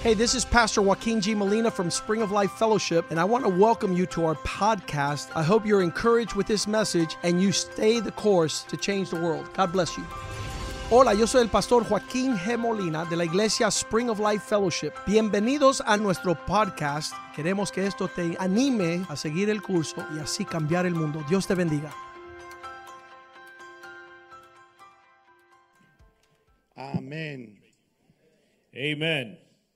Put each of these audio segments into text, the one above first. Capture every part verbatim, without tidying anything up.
Hey, this is Pastor Joaquin G. Molina from Spring of Life Fellowship, and I want to welcome you to our podcast. I hope you're encouraged with this message and you stay the course to change the world. God bless you. Hola, yo soy el pastor Joaquín G. Molina de la iglesia Spring of Life Fellowship. Bienvenidos a nuestro podcast. Queremos que esto te anime a seguir el curso y así cambiar el mundo. Dios te bendiga. Amén. Amen.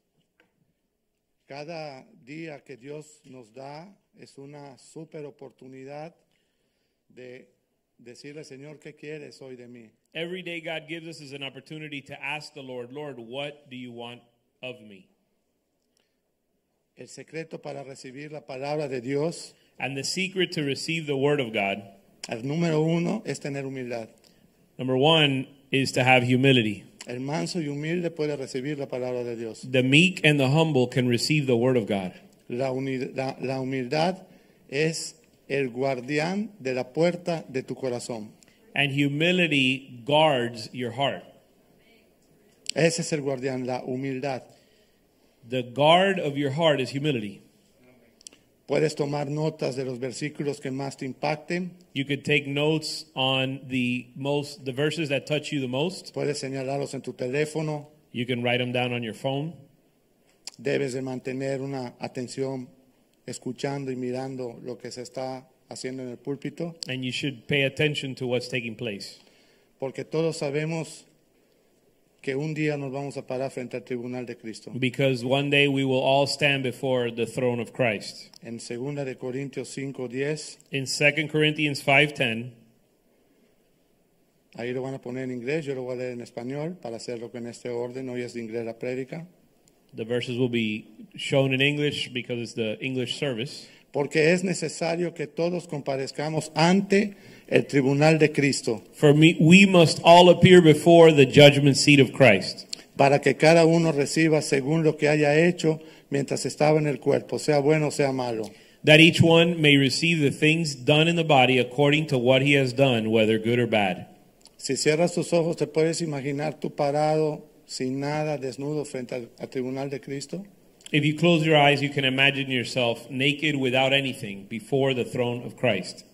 Cada día que Dios nos da es una super oportunidad de decirle, Señor, ¿qué quieres hoy de mí? Every day God gives us is an opportunity to ask the Lord, Lord, what do you want of me? El secreto para recibir la palabra de Dios, And the secret to receive the word of God, el número uno es tener humildad. number one, is to have humility. El manso y humilde puede recibir la palabra de Dios. The meek and the humble can receive the word of God. La, uni- la, la humildad es el guardián de la puerta de tu corazón. And humility guards your heart. Ese es el guardián, la humildad. The guard of your heart is humility. Puedes tomar notas de los versículos que más te impacten. You could take notes on the most, the verses that touch you the most. Puedes señalarlos en tu teléfono. You can write them down on your phone. Debes de mantener una atención escuchando y mirando lo que se está haciendo en el púlpito, And you should pay attention to what's taking place. porque todos sabemos que un día nos vamos a parar frente al tribunal de Cristo. Because one day we will all stand before the throne of Christ. En segunda de Corintios cinco diez, In Second Corinthians five ten, ahí lo van a poner en inglés, yo lo voy a leer en español para hacerlo en este orden. Hoy es de inglés la prédica. the verses will be shown in English because it's the English service. Porque es necesario que todos comparezcamos ante el tribunal de Cristo, For me, we must all appear before the judgment seat of Christ, para que cada uno reciba según lo que haya hecho mientras estaba en el cuerpo, sea bueno o sea malo. that each one may receive the things done in the body according to what he has done, whether good or bad. Si cierras tus ojos, ¿te puedes imaginar tú parado sin nada, desnudo frente al, al tribunal de Cristo? If you close your eyes, you can imagine yourself naked without anything before the throne of Christ.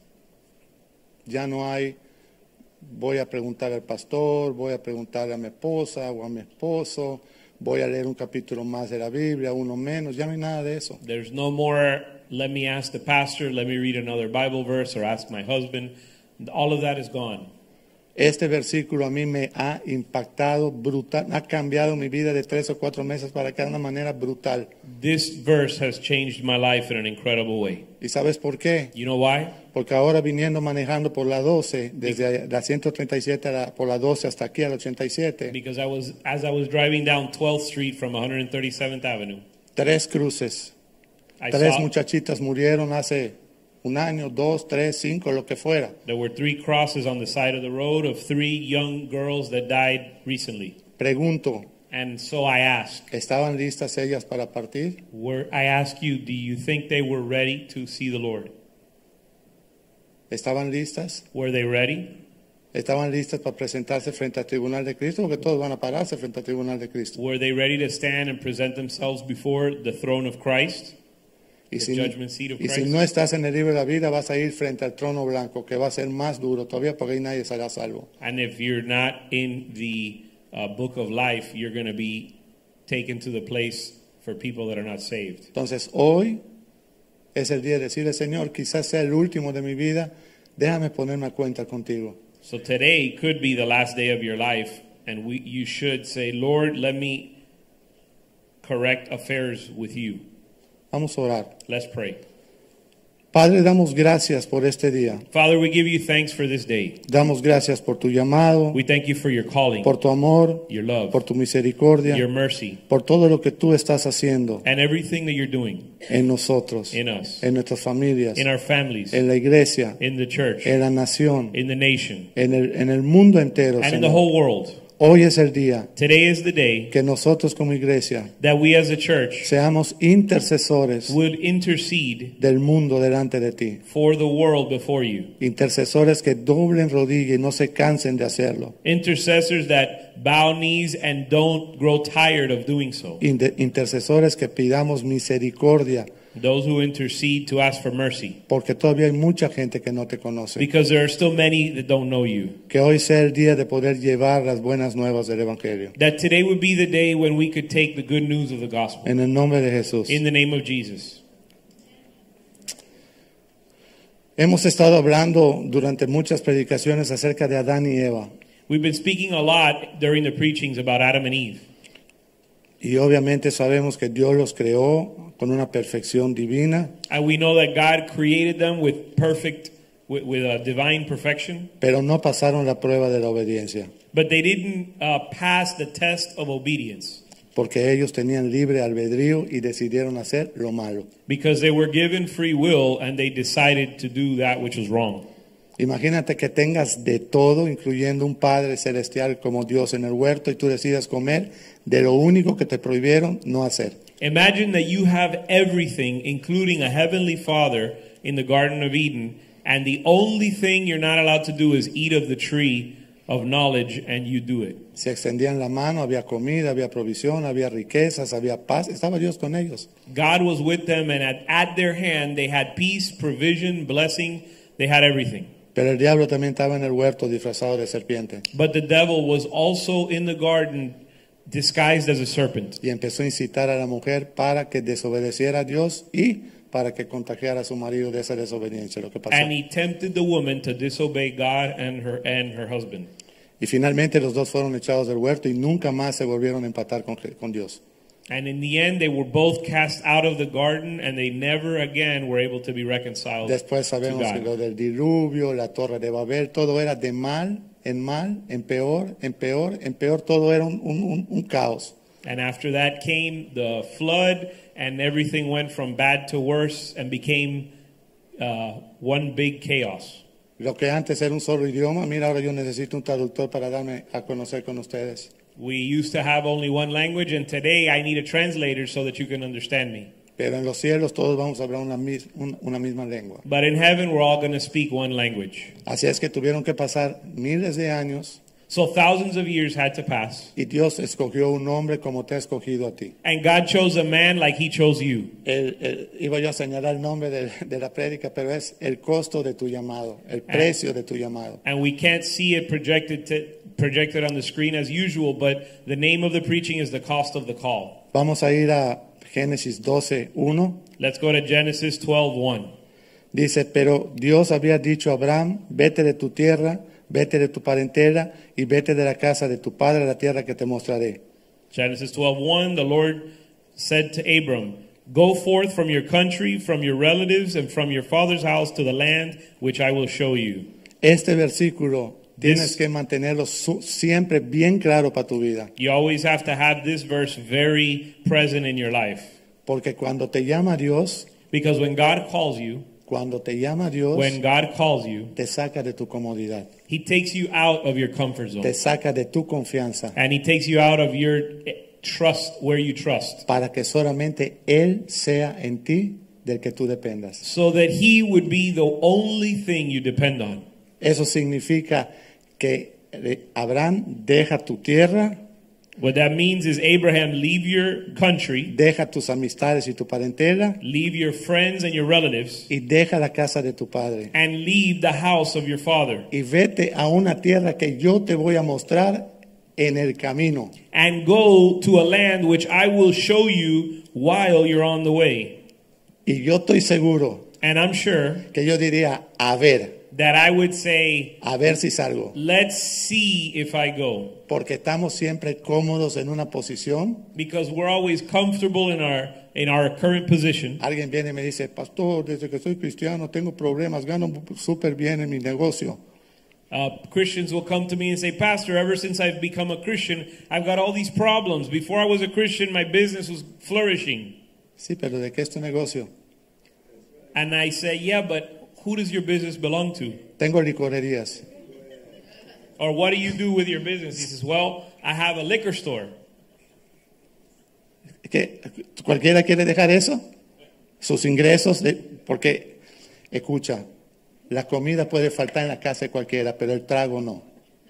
Ya no hay, voy a preguntar al pastor, voy a preguntarle a mi esposa o a mi esposo, voy a leer un capítulo más de la Biblia, uno menos, ya no hay nada de eso. There's no more, let me ask the pastor, let me read another Bible verse, or ask my husband. All of that is gone. Este versículo a mí me ha impactado brutal, ha cambiado mi vida de tres o cuatro meses para acá de una manera brutal. This verse has changed my life in an incredible way. ¿Y sabes por qué? You know why? Porque ahora viniendo manejando por la doce, desde la ciento treinta y siete a la, por la doce hasta aquí a la ochenta y siete, Because I was, as I was driving down twelfth Street from one hundred thirty-seventh Avenue, tres cruces, I tres saw muchachitas murieron hace un año, dos, tres, cinco, lo que fuera. there were three crosses on the side of the road of three young girls that died recently. Pregunto, And so I ask, ¿estaban listas ellas para partir? were, I ask you, do you think they were ready to see the Lord? ¿Estaban listas? Were they ready? ¿Estaban listas para presentarse frente al tribunal de Cristo? Porque todos van a pararse frente al tribunal de Cristo. Were they ready to stand and present themselves before the throne of Christ? Y The si, judgment seat of y si Christ? no estás en el libro de la vida, vas a ir frente al trono blanco, que va a ser más duro todavía porque ahí nadie será salvo. And if you're not in the uh, book of life, you're going to be taken to the place for people that are not saved. Entonces hoy es el día de decirle, Señor, quizás sea el último de mi vida, déjame ponerme a cuenta contigo. So today could be the last day of your life, and we, you should say, Lord, let me correct affairs with you. Vamos a orar. Let's pray. Padre, damos gracias por este día. Father, we give you thanks for this day. Damos gracias por tu llamado, We thank you for your calling, por tu amor, your love, por tu misericordia, your mercy, por todo lo que tú estás haciendo and everything that you're doing en nosotros, in us, en nuestras familias, in our families, en la iglesia, in the church, en la nación, in the nation, en el, en el mundo entero, and in the Señor. whole world. Hoy es el día Today is the day que nosotros como iglesia that we as a church seamos intercesores would intercede del mundo delante de ti. for the world before you. Intercesores que doblen rodilla y no se cansen de hacerlo. Intercessors that bow knees and don't grow tired of doing so. Inter- intercesores que pidamos misericordia, Those who intercede to ask for mercy. porque todavía hay mucha gente que no te conoce. Because there are still many that don't know you. Que hoy sea el día de poder llevar las buenas nuevas del Evangelio. That today would be the day when we could take the good news of the gospel. En el nombre de Jesús. In the name of Jesus. Hemos estado hablando durante muchas predicaciones acerca de Adán y Eva. We've been speaking a lot during the preachings about Adam and Eve. Y obviamente sabemos que Dios los creó con una perfección divina, And we know that God created them with perfect, with, with a divine perfection. pero no pasaron la prueba de la obediencia, But they didn't uh, pass the test of obedience. porque ellos tenían libre albedrío y decidieron hacer lo malo. Because they were given free will and they decided to do that which was wrong. Imagínate que tengas de todo, incluyendo un Padre celestial como Dios en el huerto, y tú decidas comer de lo único que te prohibieron no hacer. Imagine that you have everything, including a heavenly Father in the Garden of Eden, and the only thing you're not allowed to do is eat of the tree of knowledge, and you do it. Se extendían la mano, había comida, había provisión, había riquezas, había paz. Estaba Dios con ellos. God was with them, and at, at their hand they had peace, provision, blessing. They had everything. Pero el diablo también estaba en el huerto disfrazado de serpiente. But the devil was also in the garden disguised as a serpent. Y empezó a incitar a la mujer para que desobedeciera a Dios y para que contagiara a su marido de esa desobediencia. Lo que pasó. And he tempted the woman to disobey God and her and her husband. Y finalmente los dos fueron echados del huerto y nunca más se volvieron a empatar con, con Dios. And in the end, they were both cast out of the garden, and they never again were able to be reconciled Después to sabemos que God. lo del diluvio, la torre de Babel, todo era de mal en mal, en peor, en peor, en peor, todo era un, un, un, un caos. And after that came the flood, and everything went from bad to worse and became uh, one big chaos. Lo que antes era un solo idioma, mira, ahora yo necesito un traductor para darme a conocer con ustedes. We used to have only one language, and today I need a translator so that you can understand me. Pero en los cielos todos vamos a hablar una, mis, un- una misma lengua. But in heaven, we're all going to speak one language. Así es que tuvieron que pasar miles de años So thousands of years had to pass, y Dios escogió un hombre como te ha escogido a ti. and God chose a man like he chose you. El- el- iba yo a señalar el nombre de, de la prédica, pero es el costo de tu llamado, el precio de tu llamado. And we can't see it projected to, projected on the screen as usual, but the name of the preaching is the cost of the call. Vamos a ir a Génesis doce uno. Let's go to Genesis twelve one. Dice, pero Dios había dicho a Abraham, vete de tu tierra, vete de tu parentela y vete de la casa de tu padre a la tierra que te mostraré. Genesis twelve one, the Lord said to Abram, go forth from your country, from your relatives, and from your father's house to the land which I will show you. Este versículo tienes This- que mantenerlo su- siempre bien claro para tu vida, You always have to have this verse very present in your life. porque cuando te llama Dios, Because when God calls you, cuando te llama Dios, when God calls you, te saca de tu comodidad, he takes you out of your comfort zone. te saca de tu confianza, And he takes you out of your eh, trust, where you trust. para que solamente Él sea en ti del que tú dependas. So that he would be the only thing you depend on. Eso significa que eh, Abraham deja tu tierra, What that means is, Abraham, leave your country, deja tus amistades y tu parentela leave your friends and your relatives, y deja la casa de tu padre. and leave the house of your father. Y vete a una tierra que yo te voy a mostrar en el camino. And go to a land which I will show you while you're on the way. Y yo estoy seguro And I'm sure que yo diría, a ver, that I would say, a ver si salgo. let's see if I go. Porque estamos siempre cómodos en una posición. Because we're always comfortable in our in our current position. Alguien viene y me dice, pastor, desde que soy cristiano tengo problemas, gano súper bien en mi negocio. Uh, Christians will come to me and say, Pastor, ever since I've become a Christian, I've got all these problems. Before I was a Christian, my business was flourishing. Sí, pero ¿de qué es tu negocio? And I say, yeah, but who does your business belong to? Tengo licorerías. Or what do you do with your business? He says, well, I have a liquor store. ¿Qué? ¿Cualquiera quiere dejar eso? Sus ingresos, de, porque, escucha, la comida puede faltar en la casa de cualquiera, pero el trago no.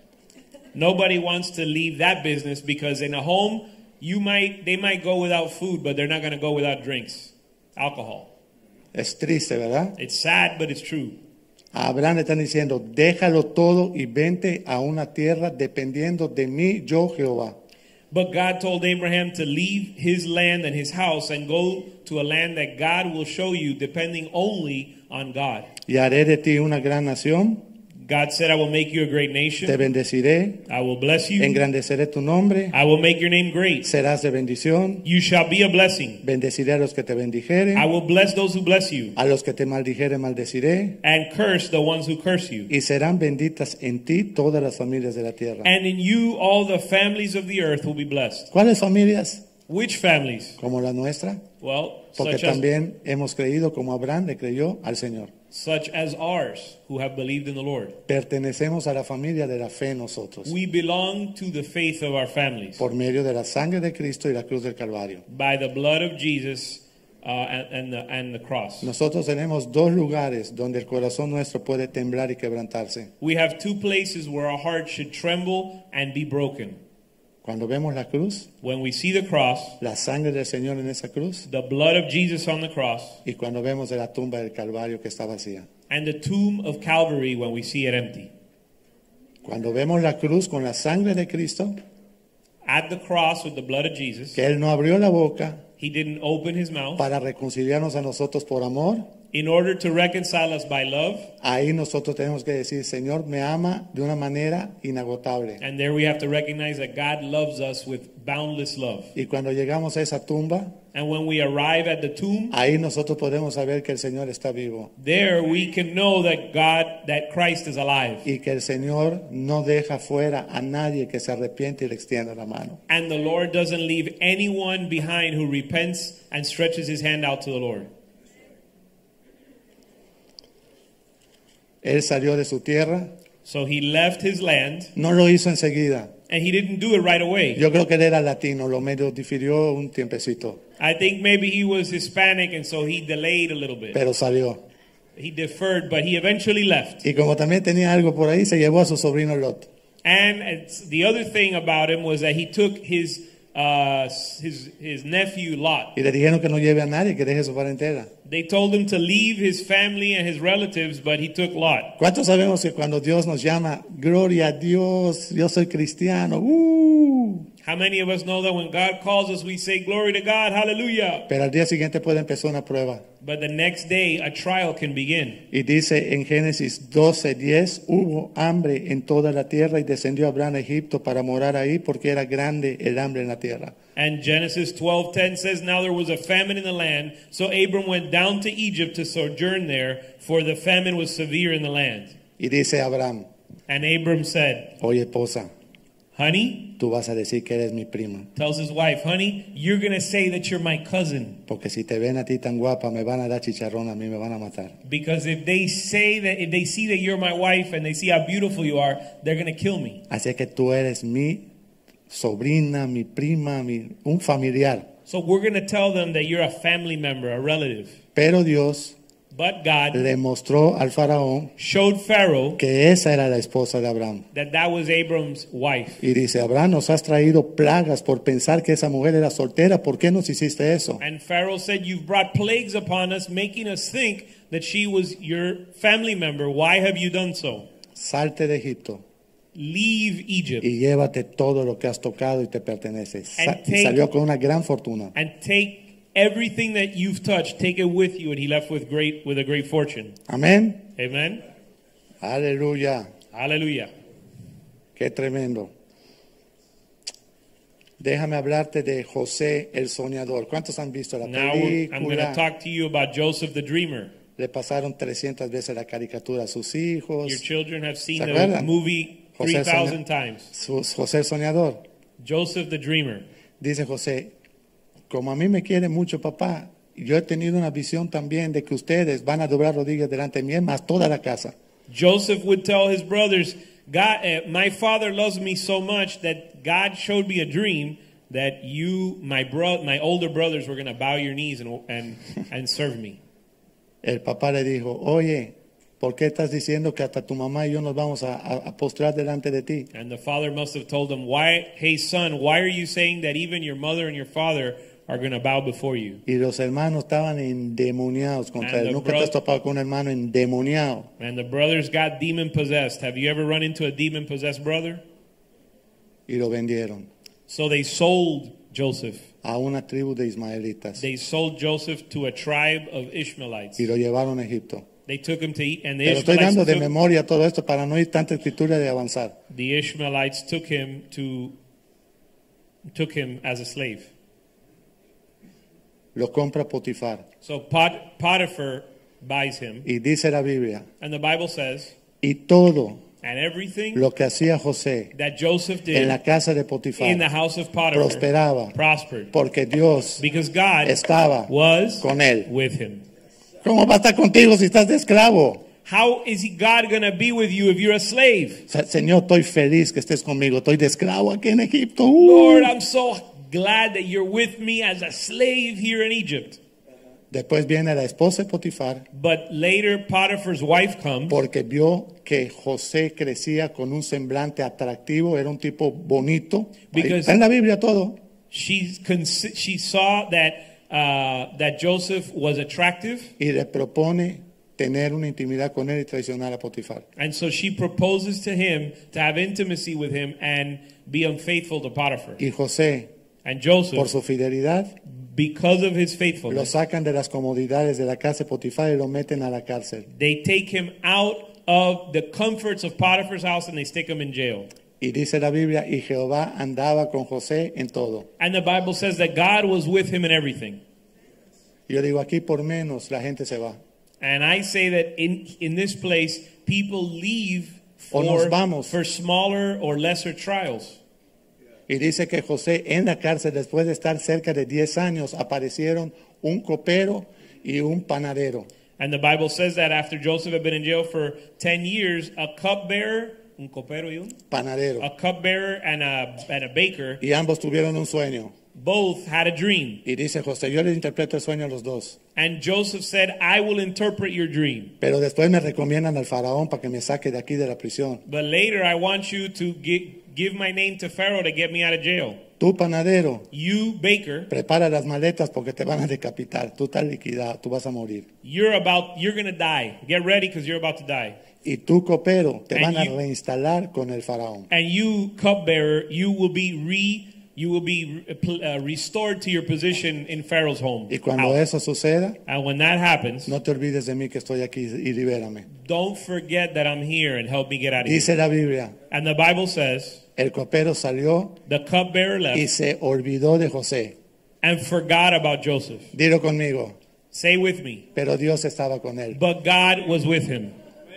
Nobody wants to leave that business because in a home, you might, they might go without food, but they're not going to go without drinks, alcohol. Es triste, ¿verdad? It's sad, but it's true. A Abraham le están diciendo, déjalo todo y vente a una tierra dependiendo de mí, yo Jehová. But God told Abraham to leave his land and his house and go to a land that God will show you, depending only on God. Y haré de ti una gran nación. God said, I will make you a great Te nation. bendeciré, I will bless you. engrandeceré tu nombre, I will make your name great. serás de bendición, You shall be a blessing. bendeciré a los que te bendijeren, I will bless those who bless you a los que te maldijeren maldeciré, and curse the ones who curse you. y serán benditas en ti todas las familias de la tierra. And in you all the families of the earth will be blessed. ¿Cuáles familias? Which families? Como la nuestra, Well, porque such as, también hemos creído como Abraham le creyó al Señor. such as ours who have believed in the Lord. Pertenecemos a la familia de la fe nosotros, We belong to the faith of our families por medio de la sangre de Cristo y la cruz del Calvario. by the blood of Jesus uh, and, and, the, and the cross. Nosotros tenemos dos lugares donde el corazón nuestro puede temblar y quebrantarse. We have two places where our heart should tremble and be broken. Cuando vemos la cruz, When we see the cross, la sangre del Señor en esa cruz, the blood of Jesus on the cross, y cuando vemos de la tumba del Calvario que está vacía. and the tomb of Calvary when we see it empty. Cuando vemos la cruz con la sangre de Cristo, At the cross with the blood of Jesus, que Él no abrió la boca he didn't open his mouth para reconciliarnos a nosotros por amor, in order to reconcile us by love. ahí nosotros tenemos que decir, Señor, me ama de una manera inagotable. And there we have to recognize that God loves us with boundless love. Y cuando llegamos a esa tumba, And when we arrive at the tomb, ahí nosotros podemos saber que el Señor está vivo there we can know that God, that Christ is alive. y que el Señor no deja fuera a nadie que se arrepiente y le extienda la mano. And the Lord doesn't leave anyone behind who repents and stretches his hand out to the Lord. Él salió de su tierra, So he left his land, no lo hizo enseguida. and he didn't do it right away. Yo creo que él era latino, lo medio difirió un tiempecito, I think maybe he was Hispanic, and so he delayed a little bit. pero salió. He deferred, but he eventually left. Y como también tenía algo por ahí, se llevó a su sobrino Lot. And it's, the other thing about him was that he took his uh, his his nephew Lot. Y le dijeron que no lleve a nadie, que deje su parentela. They told him to leave his family and his relatives, but he took Lot. ¿Cuántos sabemos que cuando Dios nos llama, gloria a Dios, yo soy cristiano? ¡Uh! How many of us know that when God calls us, we say, glory to God, hallelujah. Pero al día siguiente puede empezar una prueba. But the next day, a trial can begin. Y dice en Génesis doce diez, hubo hambre en toda la tierra y descendió Abraham a Egipto para morar ahí porque era grande el hambre en la tierra. And Genesis twelve ten says, now there was a famine in the land, so Abram went down to Egypt to sojourn there, for the famine was severe in the land. Y dice Abraham, And Abram said, oye esposa, honey, tú vas a decir que eres mi prima, tells his wife, honey, you're going to say that you're my cousin. porque si te ven a ti tan guapa me van a dar chicharrón, a mí me van a matar. Because if they say that, if they see that you're my wife and they see how beautiful you are, they're going to kill me. Así que tú eres mi sobrina, mi prima, mi, un familiar. So we're going to tell them that you're a family member, a relative. Pero Dios But God le mostró al faraón showed Pharaoh que esa era la esposa de Abraham. that that was Abram's wife. Y dice, Abraham, nos has traído plagas por pensar que esa mujer era soltera. ¿Por qué nos hiciste eso? And Pharaoh said, you've brought plagues upon us, making us think that she was your family member. Why have you done so? Salte de Egipto Leave Egypt y llévate todo lo que has tocado y te pertenece. Sa- And y take- salió con una gran fortuna. and take everything that you've touched, take it with you. And he left with great, with a great fortune. Amén. Amen. Aleluya. Hallelujah. Qué tremendo. Déjame hablarte de José el soñador. ¿Cuántos han visto la Now we're- I'm going to película? talk to you about Joseph the dreamer. Le pasaron trescientas veces la caricatura a sus hijos. Your children have seen ¿Se the acuerdan? movie José three thousand Soña- times. Su- José el soñador. Joseph the dreamer. Dice José, como a mí me quiere mucho papá, yo he tenido una visión también de que ustedes van a doblar rodillas delante de mí, más toda la casa. Joseph would tell his brothers, God, uh, my father loves me so much that God showed me a dream that you, my bro, my older brothers, were going to bow your knees and and and serve me. El papá le dijo, oye, ¿por qué estás diciendo que hasta tu mamá y yo nos vamos a, a, a postrar delante de ti? And the father must have told him, "Why, hey son, why are you saying that even your mother and your father are going to bow before you?" Y los hermanos estaban endemoniados contra And él. the Nunca bro- te has topado con un hermano endemoniado. And the brothers got demon possessed. Have you ever run into a demon possessed brother? Y lo vendieron So they sold Joseph. a una tribu de ismaelitas. They sold Joseph to a tribe of Ishmaelites. Y lo llevaron a Egipto. They took him to eat, and the Pero estoy dando Ishmaelites de took, memoria todo esto para no ir tanta escritura de avanzar. the Ishmaelites took him to took him as a slave. Lo compra Potifar. So Pot, Potiphar buys him, Y dice la Biblia, and the Bible says, y todo and everything lo que hacía José that Joseph en la did casa de Potifar in the house of Potiphar prosperaba prospered porque Dios because God estaba was con él. with him. ¿Cómo va a estar contigo si estás de esclavo? How is he, God going to be with you if you're a slave? O sea, Señor, estoy feliz que estés conmigo. Estoy de esclavo aquí en Egipto. Uh. Lord, I'm so glad that you're with me as a slave here in Egypt. Después viene la esposa de Potifar But later Potiphar's wife comes porque vio que José crecía con un semblante atractivo. Era un tipo bonito. Ahí Because- está en la Biblia todo. She's consi- she saw that uh, that Joseph was attractive, Y le propone tener una intimidad con él y traicionar a Potifar. and so she proposes to him to have intimacy with him and be unfaithful to Potiphar. Y José, And por Joseph, su fidelidad, because of his lo faithfulness, sacan de las comodidades de la casa de Potifar y lo meten a la cárcel. they take him out of the comforts of Potiphar's house and they stick him in jail. Y dice la Biblia, y Jehová andaba con José en todo. And the Bible says that God was with him in everything. Y yo digo, aquí por menos la gente se va. And I say that in in this place, people leave O nos for, vamos. for smaller or lesser trials. Y dice que José en la cárcel, después de estar cerca de diez años, aparecieron un copero y un panadero. And the Bible says that after Joseph had been in jail for ten years, a cupbearer, un copero y un, Panadero. a cupbearer and a, and a baker, Y ambos tuvieron un sueño. both had a dream. Y dice José, yo les interpreto el sueño a los dos. And Joseph said, I will interpret your dream. Pero después me recomiendan al faraón para que me saque de aquí de la prisión. But later I want you to gi- give my name to Pharaoh to get me out of jail. Tú, panadero, You, baker, prepara las maletas porque te van a decapitar. Tú estás liquidado, tú vas a morir. you're about, you're going to die. Get ready because you're about to die. Y tú, copero, te And van a you- reinstalar con el faraón. And you, cupbearer, you will be re, you will be uh, restored to your position in Pharaoh's home. Y cuando house. eso suceda, And when that happens, no te olvides de mí que estoy aquí y libérame. don't forget that I'm here and help me get out of Dice here. la Biblia, And the Bible says, el copero salió the cupbearer y left se olvidó de José. and forgot about Joseph. Dilo conmigo, Say with me. pero Dios estaba con él. But God was with him.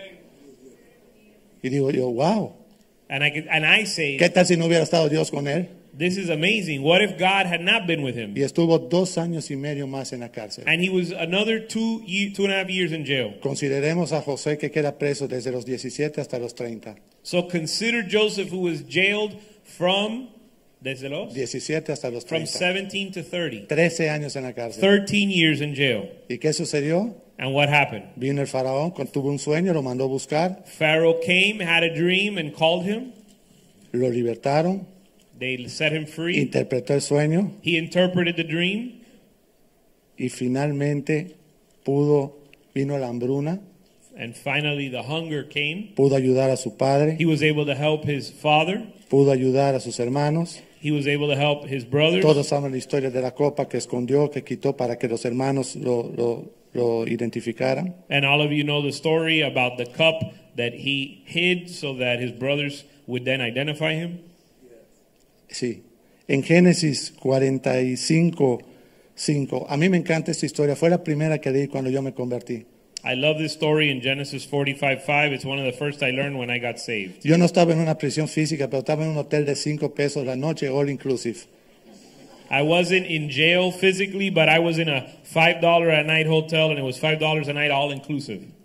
Y digo yo, wow, And I can, and I say, ¿qué tal si no hubiera estado Dios con él? this is amazing. What if God had not been with him? Y estuvo dos años y medio más en la cárcel. And he was another two, ye- two and a half years in jail. Consideremos a José que queda preso desde los diecisiete hasta los treinta. So consider Joseph, who was jailed from, desde los, diecisiete hasta los from treinta. seventeen to thirty. trece años en la cárcel. thirteen years in jail. ¿Y qué sucedió? And what happened? Vino el faraón, con- tuvo un sueño, lo mandó a buscar, Pharaoh came, had a dream, and called him. lo libertaron, They set him free. interpretó el sueño He interpreted the dream. y finalmente pudo, vino la hambruna, And finally, the hunger came. pudo ayudar a su padre, He was able to help his father. pudo ayudar a sus hermanos. He was able to help his brothers. Todos saben la historia de la copa que escondió, que quitó para que los hermanos lo, lo, lo identificaran. And all of you know the story about the cup that he hid so that his brothers would then identify him. Sí. En Génesis cuarenta y cinco, cinco. A mí me encanta esta historia. Fue la primera que leí cuando yo me convertí. I love this story in Genesis forty-five five. It's one of the first I learned when I got saved. Yo no estaba en una prisión física, pero estaba en un hotel de cinco pesos la noche, all inclusive. I wasn't in jail physically, but I was in a five dollar a night hotel, and it was five dollars a night all inclusive.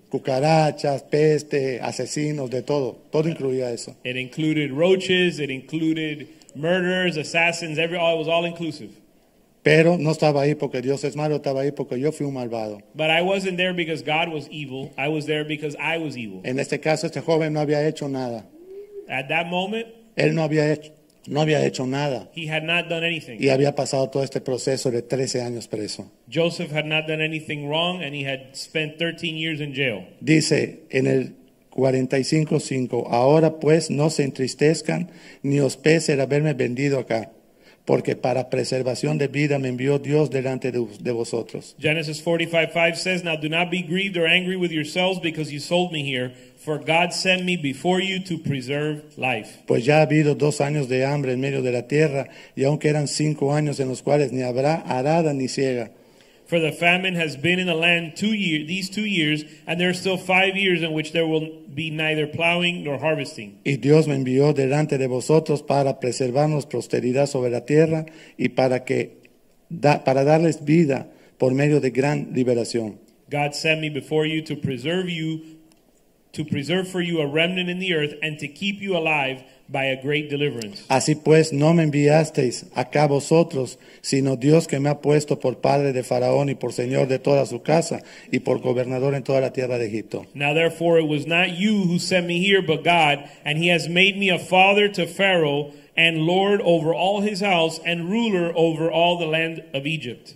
cucarachas, peste, asesinos, de todo. Todo incluía eso. It included roaches, it included murderers, assassins, every all, it was all inclusive. Pero no estaba ahí porque Dios es malo, estaba ahí porque yo fui un malvado. But I wasn't there because God was evil. I was there because I was evil. En este caso, este joven no había hecho nada. At that moment, Él no había hecho, no había hecho nada. he had not done anything. Y había pasado todo este proceso de trece años preso. Joseph had not done anything wrong, and he had spent thirteen years in jail. Dice en el cuarenta y cinco cinco, ahora pues no se entristezcan ni os pese el haberme vendido acá, porque para preservación de vida me envió Dios delante de, de vosotros. Genesis forty-five five says, now do not be grieved or angry with yourselves because you sold me here, for God sent me before you to preserve life. Pues ya ha habido dos años de hambre en medio de la tierra, y aunque eran cinco años en los cuales ni habrá arada ni ciega. For the famine has been in the land two year, these two years, and there are still five years in which there will be neither plowing nor harvesting. Y Dios me envió delante de vosotros para preservarnos posteridad sobre la tierra y para que da, para darles vida por medio de gran liberación. God sent me before you to preserve you, to preserve for you a remnant in the earth, and to keep you alive by a great deliverance. Así pues, no me enviasteis acá vosotros, sino Dios que me ha puesto por padre de Faraón y por señor de toda su casa y por gobernador en toda la tierra de Egipto. Now therefore it was not you who sent me here, but God, and he has made me a father to Pharaoh, and lord over all his house, and ruler over all the land of Egypt.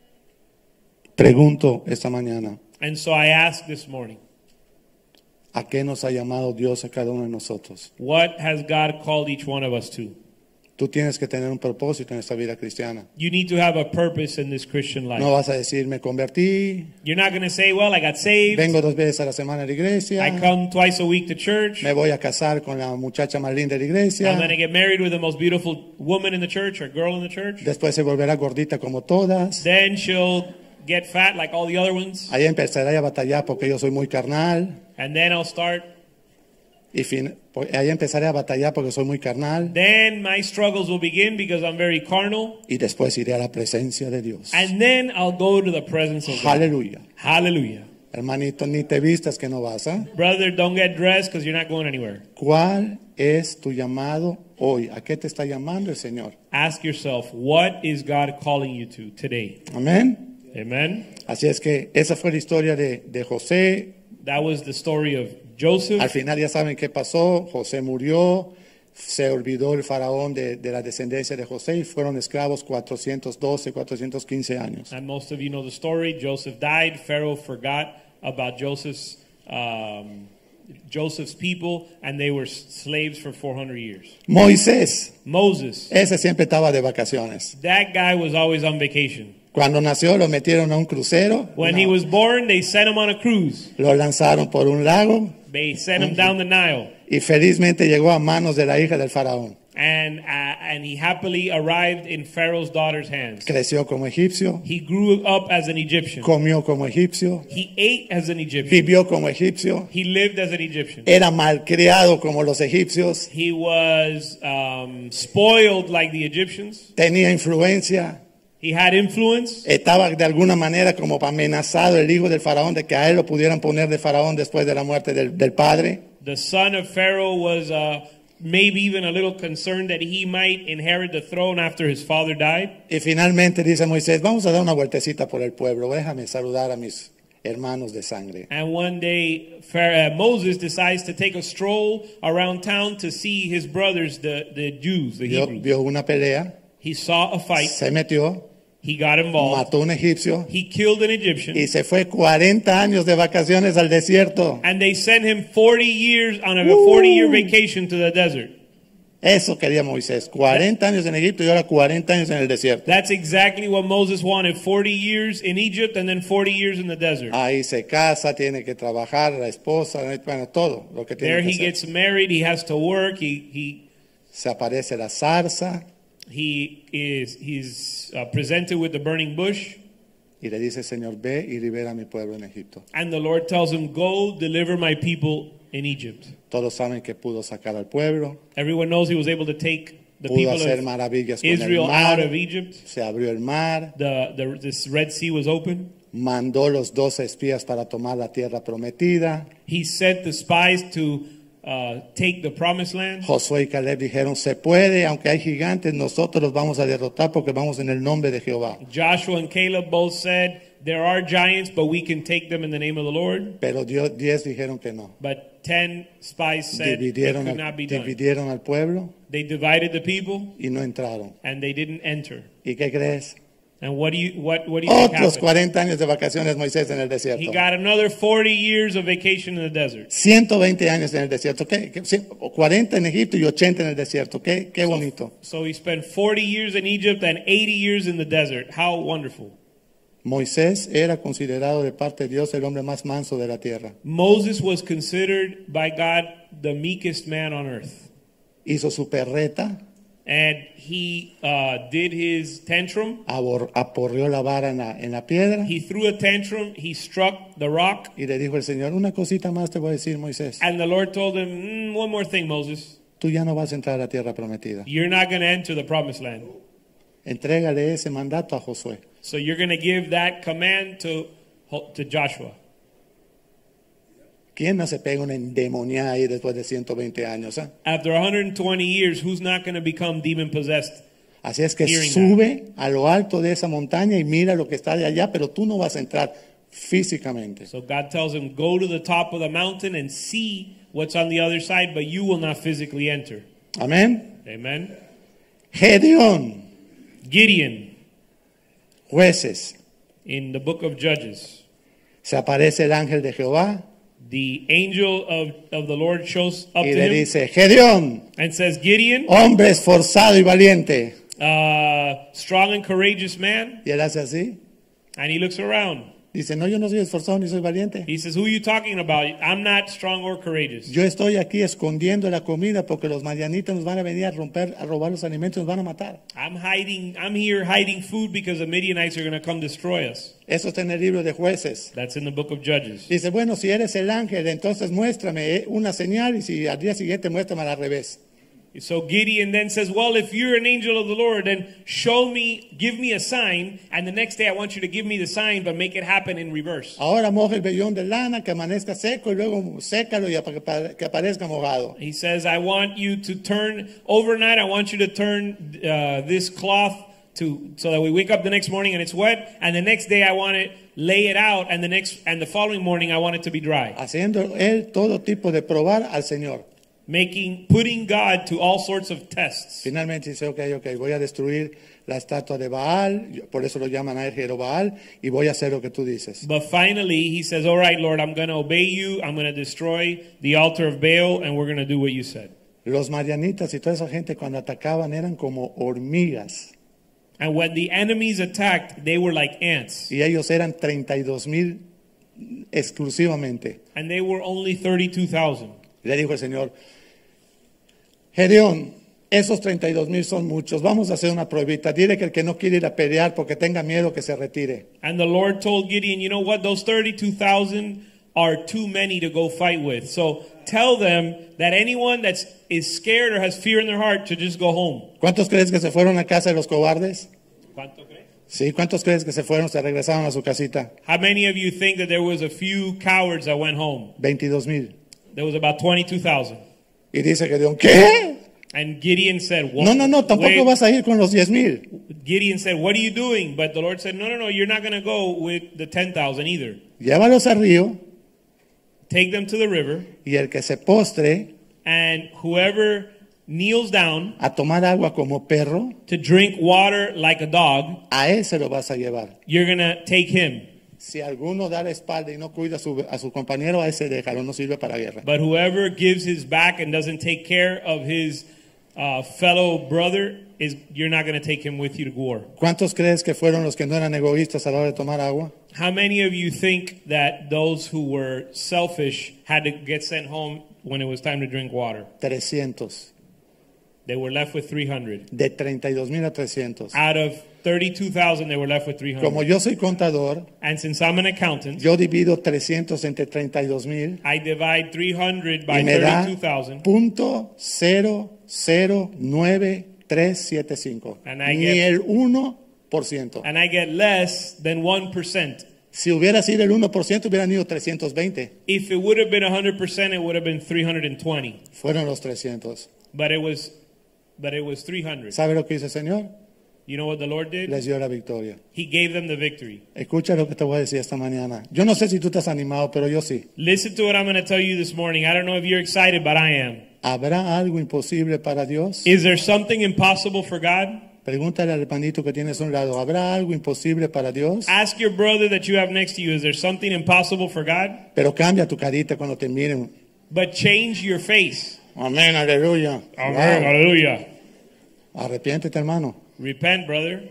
Pregunto esta mañana, And so I ask this morning, ¿a qué nos ha llamado Dios a cada uno de nosotros? what has God called each one of us to? Tú tienes que tener un propósito en esta vida cristiana. You need to have a purpose in this Christian life. No vas a decir, me convertí, You're not going to say, well, I got saved. vengo dos veces a la semana a la iglesia, I come twice a week to church. me voy a casar con la muchacha más linda de la iglesia, I'm going to get married with the most beautiful woman in the church or girl in the church. después se volverá gordita como todas, Then she'll get fat like all the other ones. ahí empezaré a batallar porque yo soy muy carnal, And then I'll start. y fin, pues, ahí empezaré a batallar porque soy muy carnal, Then my struggles will begin because I'm very carnal. y después iré a la presencia de Dios. And then I'll go to the presence of God. Aleluya. Hallelujah. Hermanito, ni te vistas que no vas, ¿eh? Brother, don't get dressed because you're not going anywhere. ¿Cuál es tu llamado hoy? ¿A qué te está llamando el Señor? Ask yourself, what is God calling you to today? Amén. Amen. Así es que esa fue la historia de, de José. That was the story of Joseph. Al final ya saben qué pasó. José murió. Se olvidó el faraón de, de la descendencia de José y fueron esclavos cuatrocientos doce, cuatrocientos quince años. And most of you know the story. Joseph died. Pharaoh forgot about Joseph's um, Joseph's people, and they were slaves for four hundred years. Moisés, Moses, ese siempre estaba de vacaciones. that guy was always on vacation. Cuando nació lo metieron a un crucero. When No. he was born, they sent him on a cruise. Lo lanzaron por un lago They sent him down the Nile, y felizmente llegó a manos de la hija del faraón. and uh, and he happily arrived in Pharaoh's daughter's hands. Creció como egipcio, He grew up as an Egyptian. comió como egipcio, He ate as an Egyptian. vivió como egipcio, He lived as an Egyptian. era malcriado como los egipcios, He was um, spoiled like the Egyptians. tenía influencia, He had influence. estaba de alguna manera como amenazado el hijo del faraón de que a él lo pudieran poner de faraón después de la muerte del, del padre. The son of Pharaoh was uh, maybe even a little concerned that he might inherit the throne after his father died. Y finalmente dice Moisés, vamos a dar una vueltecita por el pueblo, déjame saludar a mis hermanos de sangre. And one day, Pharaoh, uh, Moses decides to take a stroll around town to see his brothers, the, the Jews, the Vio, Hebrews. vio una pelea, He saw a fight. se metió, He got involved. mató a un egipcio He killed an Egyptian. y se fue cuarenta años de vacaciones al desierto. And they sent him forty years on a forty-year vacation to the desert. Eso quería Moisés, cuarenta años en Egipto y ahora cuarenta años en el desierto. That's exactly what Moses wanted, forty years in Egypt and then forty years in the desert. Ahí se casa, tiene que trabajar, la esposa, bueno, todo lo que tiene There que he hacer. gets married, he has to work, he he Se aparece la zarza he is he's uh, presented with the burning bush, y le dice, Señor, ve y libera a mi pueblo en Egipto. and the Lord tells him, "Go deliver my people in Egypt." Todos saben que pudo sacar al pueblo, Everyone knows he was able to take the pudo people hacer of maravillas con Israel el mar, out of Egypt. se abrió el mar, The, the this Red Sea was open. mandó los doce espías para tomar la tierra prometida. He sent the spies to uh, take the promised land. Josué y Caleb dijeron, se puede, aunque hay gigantes, nosotros los vamos a derrotar porque vamos en el nombre de Jehová. Joshua and Caleb both said, there are giants, but we can take them in the name of the Lord. Pero Dios, diez dijeron que no. But ten spies said it Dividieron could al, not be done. dividieron al pueblo They divided the people y no entraron. and they didn't enter. ¿Y qué crees? And what do you what what do you think Otros happened? cuarenta años de vacaciones Moisés en el desierto. He got another forty years of vacation in the desert. ciento veinte años en el desierto. ¿Qué? ¿Qué? cuarenta en Egipto y ochenta en el desierto. Qué, qué bonito. So he spent forty years in Egypt and eighty years in the desert. How wonderful. Moisés era considerado de parte de Dios el hombre más manso de la tierra. Moses was considered by God the meekest man on earth. Hizo su perreta, And he uh, did his tantrum. abor, aporreó la vara en la, en la piedra He threw a tantrum. He struck the rock. y le dijo el Señor, una cosita más te voy a decir, Moisés. And the Lord told him, mm, one more thing, Moses. Tú ya no vas a entrar a la tierra prometida. You're not going to enter the promised land. Entrégale ese mandato a Josué. So you're going to give that command to, to Joshua. ¿Quién no se pega una endemoniada ahí después de ciento veinte años? ¿Eh? After one hundred twenty years, who's not going to become demon possessed? Así es que Hearing sube a lo alto de esa montaña y mira lo que está de allá, pero tú no vas a entrar físicamente. So God tells him, go to the top of the mountain and see what's on the other side, but you will not physically enter. Amén. Amen. Gedeón, Gideon, jueces, in the book of Judges, se aparece el ángel de Jehová the angel of, of the Lord shows up y to le him dice, Gedeón, and says, Gideon, hombre esforzado y valiente. uh, strong and courageous man. Y él hace así. And he looks around. Dice, no, yo no soy esforzado ni soy valiente. He says, who are you talking about? I'm not strong or courageous. Yo estoy aquí escondiendo la comida porque los madianitas nos van a venir a romper, a robar los alimentos, nos van a matar. I'm hiding, I'm here hiding food because the Midianites are going to come destroy us. Eso está en el libro de Jueces. That's in the book of Judges. Dice, bueno, si eres el ángel, entonces muéstrame eh, una señal y si al día siguiente muéstrame al revés. So Gideon then says, well, if you're an angel of the Lord, then show me, give me a sign, and the next day I want you to give me the sign, but make it happen in reverse. Ahora moja el vellón de lana, que amanezca seco y luego sécalo y apa- que aparezca mojado. He says, I want you to turn, overnight, I want you to turn uh, this cloth to, so that we wake up the next morning and it's wet, and the next day I want to lay it out, and the next, and the following morning I want it to be dry. Haciendo él todo tipo de probar al Señor. Making, putting God to all sorts of tests. Finalmente dice, ok, ok, voy a destruir la estatua de Baal, por eso lo llaman a él Jerobaal, y voy a hacer lo que tú dices. But finally, he says, all right, Lord, I'm going to obey you. I'm going to destroy the altar of Baal, and we're going to do what you said. Los marianitas y toda esa gente cuando atacaban eran como hormigas, And when the enemies attacked, they were like ants. y ellos eran treinta y dos mil exclusivamente. And they were only thirty-two thousand. Le dijo el Señor, Gedeón, esos treinta y dos mil son muchos, vamos a hacer una pruebita, dile que el que no quiere ir a pelear porque tenga miedo que se retire. And the Lord told Gideon, you know what? Those thirty-two thousand are too many to go fight with. So tell them that anyone that is scared or has fear in their heart to just go home. ¿Cuántos crees que se fueron a casa de los cobardes? ¿Cuánto crees? Sí, ¿cuántos crees que se fueron, se regresaron a su casita? How many of you think that there was a few cowards that went home? veintidós mil. There was about twenty-two thousand. Y dice Gedeón, ¿qué? And Gideon said, what? No, no, no, tampoco Wait. vas a ir con los diez mil. Gideon said, what are you doing? But the Lord said, no, no, no, you're not going to go with the ten thousand either. Llévalos al río Take them to the river, y el que se postre and whoever kneels down a tomar agua como perro, to drink water like a dog, a ese lo vas a llevar. you're going to take him. Si alguno da la espalda y no cuida a su, a su compañero, a ese déjalo, no sirve para guerra. But whoever gives his back and doesn't take care of his uh, fellow brother, is you're not going to take him with you to war. ¿Cuántos crees que fueron los que no eran egoístas a la hora de tomar agua? How many of you think that those who were selfish had to get sent home when it was time to drink water? trescientos. They were left with three hundred. De treinta y dos mil a trescientos. Out of thirty-two thousand, they were left with three hundred. Como yo soy contador, And since I'm an accountant, yo divido trescientos entre treinta y dos mil I divide three hundred by y me da thirty-two thousand. punto cero cero nueve tres siete cinco. And I Ni get- el uno por ciento. And I get less than one percent. Si hubiera sido el uno por ciento, hubieran ido trescientos veinte. If it would have been one hundred percent, it would have been three hundred twenty. Fueron los trescientos. But it was, but it was three hundred. ¿Sabe lo que hizo el Señor? You know what the Lord did? Les dio la victoria. He gave them the victory. Escucha lo que te voy a decir esta mañana. Yo no sé si tú estás animado, pero yo sí. Listen to what I'm going to tell you this morning. I don't know if you're excited, but I am. ¿Habrá algo imposible para Dios? Is there something impossible for God? Pregúntale al hermanito que tienes a un lado. ¿Habrá algo imposible para Dios? Ask your brother that you have next to you, is there something impossible for God? Pero cambia tu carita cuando te miren. But change your face. Amén, aleluya. Amen. Wow. Hallelujah. Arrepiéntete, hermano. Repent, brother.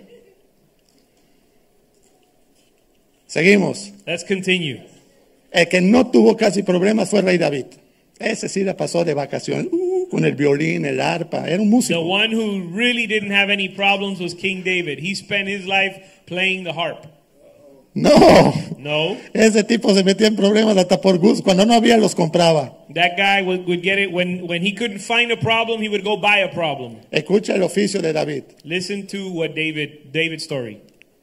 Seguimos. Let's continue. El que no tuvo casi problemas fue el rey David. Ese sí la pasó de vacaciones. Uh, con el violín, el arpa. Era un The músico. one who really didn't have any problems was King David. He spent his life playing the harp. No. No, Ese tipo se metía en problemas hasta por gusto. Cuando no había, los compraba. that guy would, would get it when, when he couldn't find a problem, he would go buy a problem. Escucha el oficio de David. Listen to what David, David's story.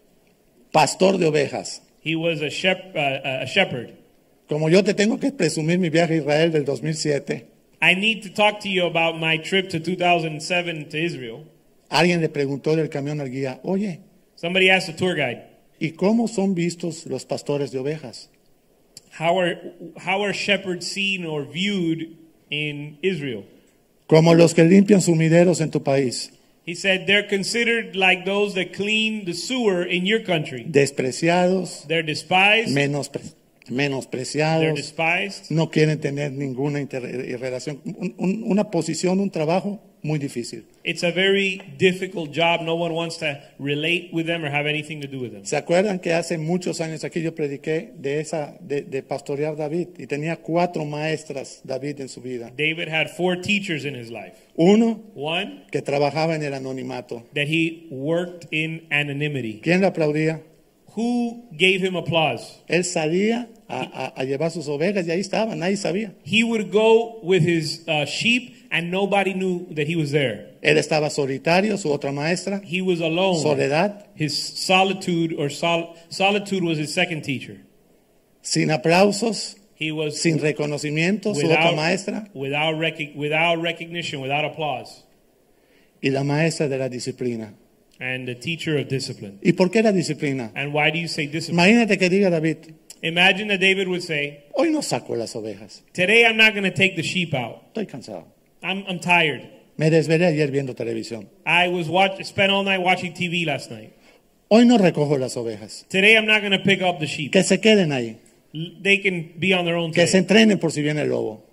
Pastor de ovejas. He was a, shep, uh, a shepherd. Como yo te tengo que presumir mi viaje a Israel del dos mil siete, I need to talk to you about my trip to two thousand seven to Israel. alguien le preguntó del camión al guía, oye, Somebody asked the tour guide, ¿y cómo son vistos los pastores de ovejas? how are, how are shepherds seen or viewed in Israel? Como los que limpian sumideros en tu país, He said they're considered like those that clean the sewer in your country. despreciados, They're despised. menospre- They're menospreciados, despised. no quieren tener ninguna inter- relación, un- un- una posición, un trabajo muy difícil. It's a very difficult job. No one wants to relate with them or have anything to do with them. ¿Se acuerdan que hace muchos años aquí yo prediqué de esa de, de pastorear David y tenía cuatro maestras David en su vida? David had four teachers in his life. Uno One, que trabajaba en el anonimato. that he worked in anonymity. ¿Quién le aplaudía? Who gave him applause? Él salía a, a- a llevar sus ovejas y ahí estaba, nadie sabía. He would go with his uh, sheep and nobody knew that he was there. Él estaba solitario, su otra maestra, He was alone. soledad, His solitude or sol- solitude was his second teacher. sin aplausos, He was sin reconocimiento, su otra maestra, without, rec- without recognition, without applause, y la maestra de la disciplina. and the teacher of discipline. ¿Y por qué la disciplina? And why do you say discipline? Imagínate que diga David, Imagine that David would say, hoy no saco las ovejas, today I'm not going to take the sheep out. estoy cansado. I'm, I'm tired. Me desvelé ayer viendo televisión. I was watch, spent all night watching T V last night. Hoy no recojo las ovejas. Today I'm not going to pick up the sheep. Que se queden ahí. L- They can be on their own Que se today. entrenen por si viene el lobo.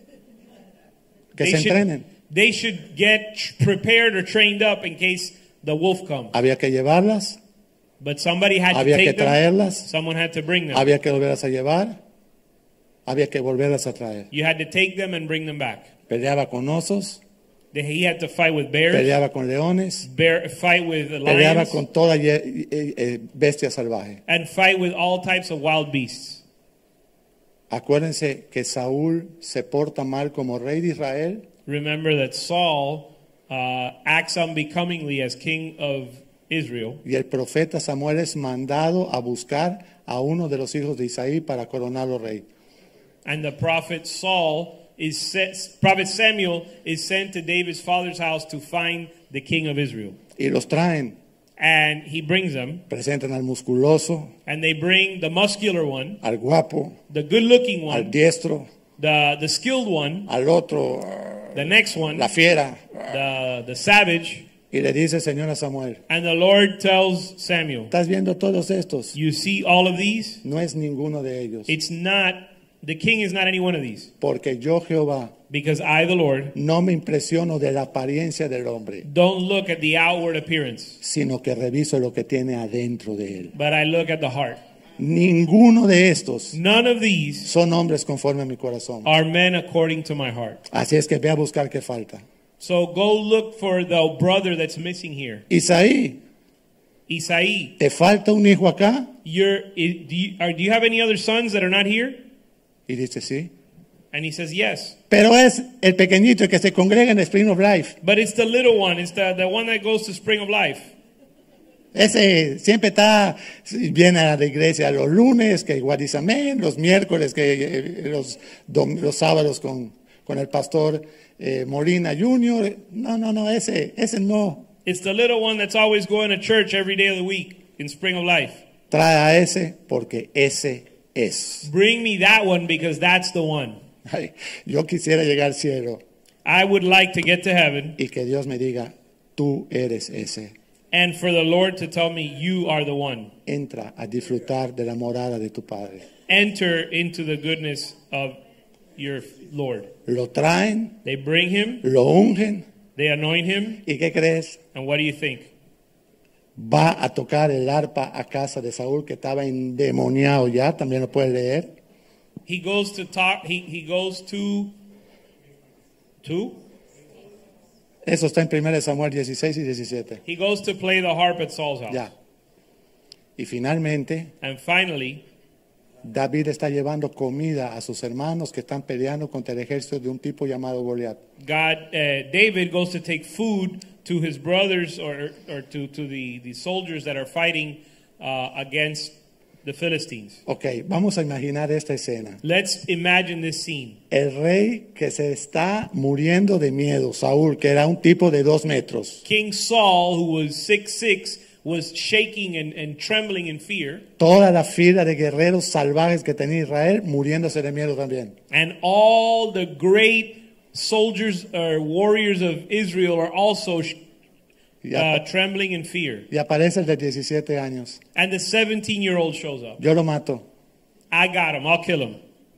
Que They se should, entrenen. they should get tr- prepared or trained up in case the wolf comes. Había que llevarlas, But somebody had to había que take them. traerlas, Someone had to bring them. había que volverlas a llevar, había que volverlas a traer. You had to take them and bring them back. Peleaba con osos, Then He had to fight with bears, peleaba con leones, bear, fight with peleaba lions, con toda ye- eh, eh, bestia salvaje. and fight with all types of wild beasts. Acuérdense que Saúl se porta mal como rey de Israel Remember that Saul uh, acts unbecomingly as king of Israel, y el profeta Samuel es mandado a buscar a uno de los hijos de Isaí para coronarlo rey. and the prophet Saul is set, prophet Samuel is sent to David's father's house to find the king of Israel, Y los traen, and he brings them, presentan al musculoso, and they bring the muscular one, al guapo, the good-looking al one, diestro, the the skilled one, al otro, the next one, la fiera. the the savage, Y le dice el Señor a Samuel, and the Lord tells Samuel, ¿estás viendo todos estos? "You see all of these? No es ninguno de ellos. It's not the king is not any one of these, Porque yo, Jehová, because I, the Lord, no me impresiono de la apariencia del hombre, don't look at the outward appearance, sino que reviso lo que tiene adentro de él. but I look at the heart. Ninguno de estos None of these son hombres conforme a mi corazón. are men according to my heart." Así es que ve a buscar qué falta. So go look for the brother that's missing here. Isaí, Isai, ¿te falta un hijo acá? you're, i- do, you, are, do you have any other sons that are not here? Y dice, sí. And he says, yes. Pero es el pequeñito el que se congrega en Spring of Life. But it's the little one. It's the, the one that goes to Spring of Life. Ese siempre está, viene a la iglesia los lunes, que igual dice amén, los miércoles, que eh, los, dom- los sábados con, con el pastor eh, Molina junior No, no, no, ese, ese no. It's the little one that's always going to church every day of the week in Spring of Life. Trae a ese porque ese es. Bring me that one because that's the one. Ay, yo quisiera llegar al cielo I would like to get to heaven y que Dios me diga, tú eres ese. and for the Lord to tell me, you are the one. Entra a disfrutar de la morada de tu Padre. Enter into the goodness of your Lord. Lo traen, They bring him, lo ungen, they anoint him, ¿y qué crees? and what do you think? Va a tocar el arpa a casa de Saúl, que estaba endemoniado ya, también lo puedes leer. He goes to talk, he, he goes to, to? Eso está en primero Samuel dieciséis y diecisiete. He goes to play the harp at Saul's house. Ya. Y finalmente, And finally, David está llevando comida a sus hermanos que están peleando contra el ejército de un tipo llamado Goliat. God, uh, David goes to take food to his brothers or, or to, to the, the soldiers that are fighting uh, against the Philistines. Ok, vamos a imaginar esta escena. Let's imagine this scene. El rey que se está muriendo de miedo, Saúl, que era un tipo de dos metros. King Saul, who was six six, was shaking and, and trembling in fear. Toda la fila de guerreros salvajes que tenía Israel muriéndose de miedo también. And all the great soldiers or warriors of Israel are also sh- Y, uh, apa- trembling in fear. y aparece el de diecisiete años. And the seventeen-year-old shows up. Yo lo mato. I got him. I'll kill him.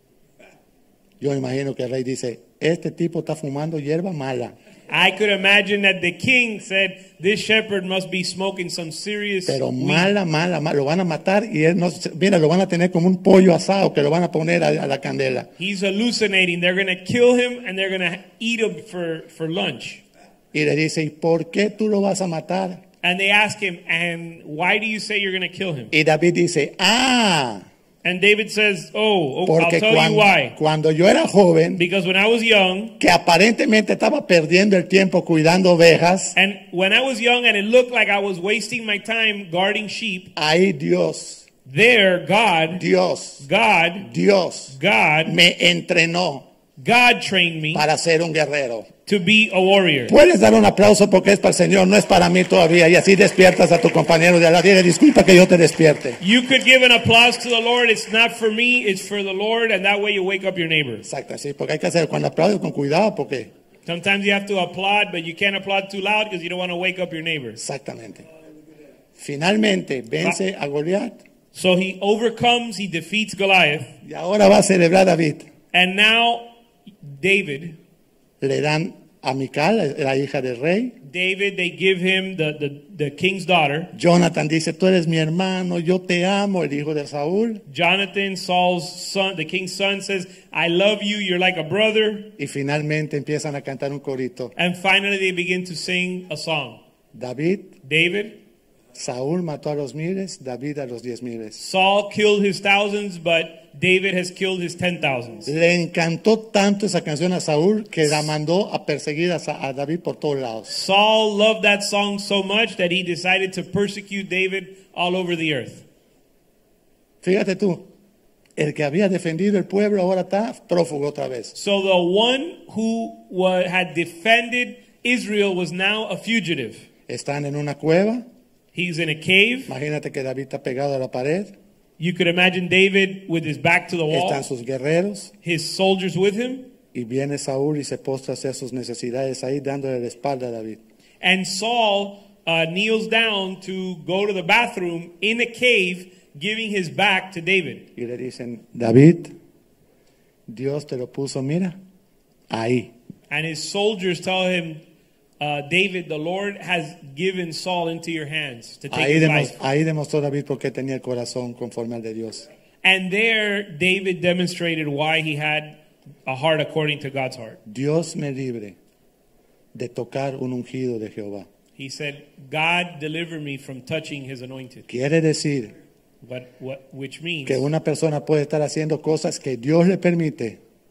Yo imagino que el rey dice, este tipo está fumando hierba mala. I could imagine that the king said, this shepherd must be smoking some serious Pero weed. mala, mala, mala. Lo van a matar y él no, se- mira, lo van a tener como un pollo asado que lo van a poner a, a la candela. He's hallucinating. They're going to kill him and they're going to eat him for, for lunch. Y le dice, ¿y por qué tú lo vas a matar? And they ask him, and why do you say you're going to kill him? Y David dice, ah, And David says, oh, oh I'll porque tell cuando, you why. cuando yo era joven, Because when I was young, que aparentemente estaba perdiendo el tiempo cuidando ovejas, and when I was young and it looked like I was wasting my time guarding sheep, ahí Dios, there God, Dios, God, Dios God, me entrenó God trained me para ser un guerrero. to be a warrior. Puedes dar un aplauso porque es para el Señor, no es para mí todavía. Y así despiertas a tu compañero de al lado. Dile, disculpa que yo te despierte. You could give an applause to the Lord. It's not for me, it's for the Lord, and that way you wake up your neighbors. Exacto, sí, porque hay que hacer cuando aplaudes con cuidado, porque Sometimes you have to applaud, but you can't applaud too loud because you don't want to wake up your neighbors. exactamente. Finalmente vence a Goliat So he overcomes, he defeats Goliath, y ahora va a celebrar David. and now David, Le dan a Mical, la hija del rey. David, they give him the, the, the king's daughter. Jonathan dice, tú eres mi hermano, yo te amo, el hijo de Saúl. Jonathan, Saul's son, the king's son, says, I love you, you're like a brother. Y finalmente empiezan a cantar un corito. And finally they begin to sing a song. David, David, Saúl mató a los miles, David a los diez miles. Saul killed his thousands, but David has killed his ten thousands. Le encantó tanto esa canción a Saúl que la mandó a perseguir a, Sa- a David por todos lados. Saul loved that song so much that he decided to persecute David all over the earth. Fíjate tú, el que había defendido el pueblo ahora está prófugo otra vez. So the one who wa- had defended Israel was now a fugitive. Están en una cueva. He's in a cave. Imagínate que David está pegado a la pared. You could imagine David with his back to the wall, Están sus guerreros. his soldiers with him, Y viene Saúl y se postra a hacer sus necesidades ahí dándole la espalda a David. and Saul uh, kneels down to go to the bathroom in a cave, giving his back to David. Y le dicen, David, Dios te lo puso, mira, ahí. And his soldiers tell him, uh, David, the Lord has given Saul into your hands to take Ahí, his demos- life. ahí demostró David por qué tenía el corazón conforme al de Dios. And there, David demonstrated why he had a heart according to God's heart. Dios me libre de tocar un ungido de Jehová. He said, God deliver me from touching his anointed. Quiere decir But what, which means que una persona puede estar haciendo cosas que Dios le permite,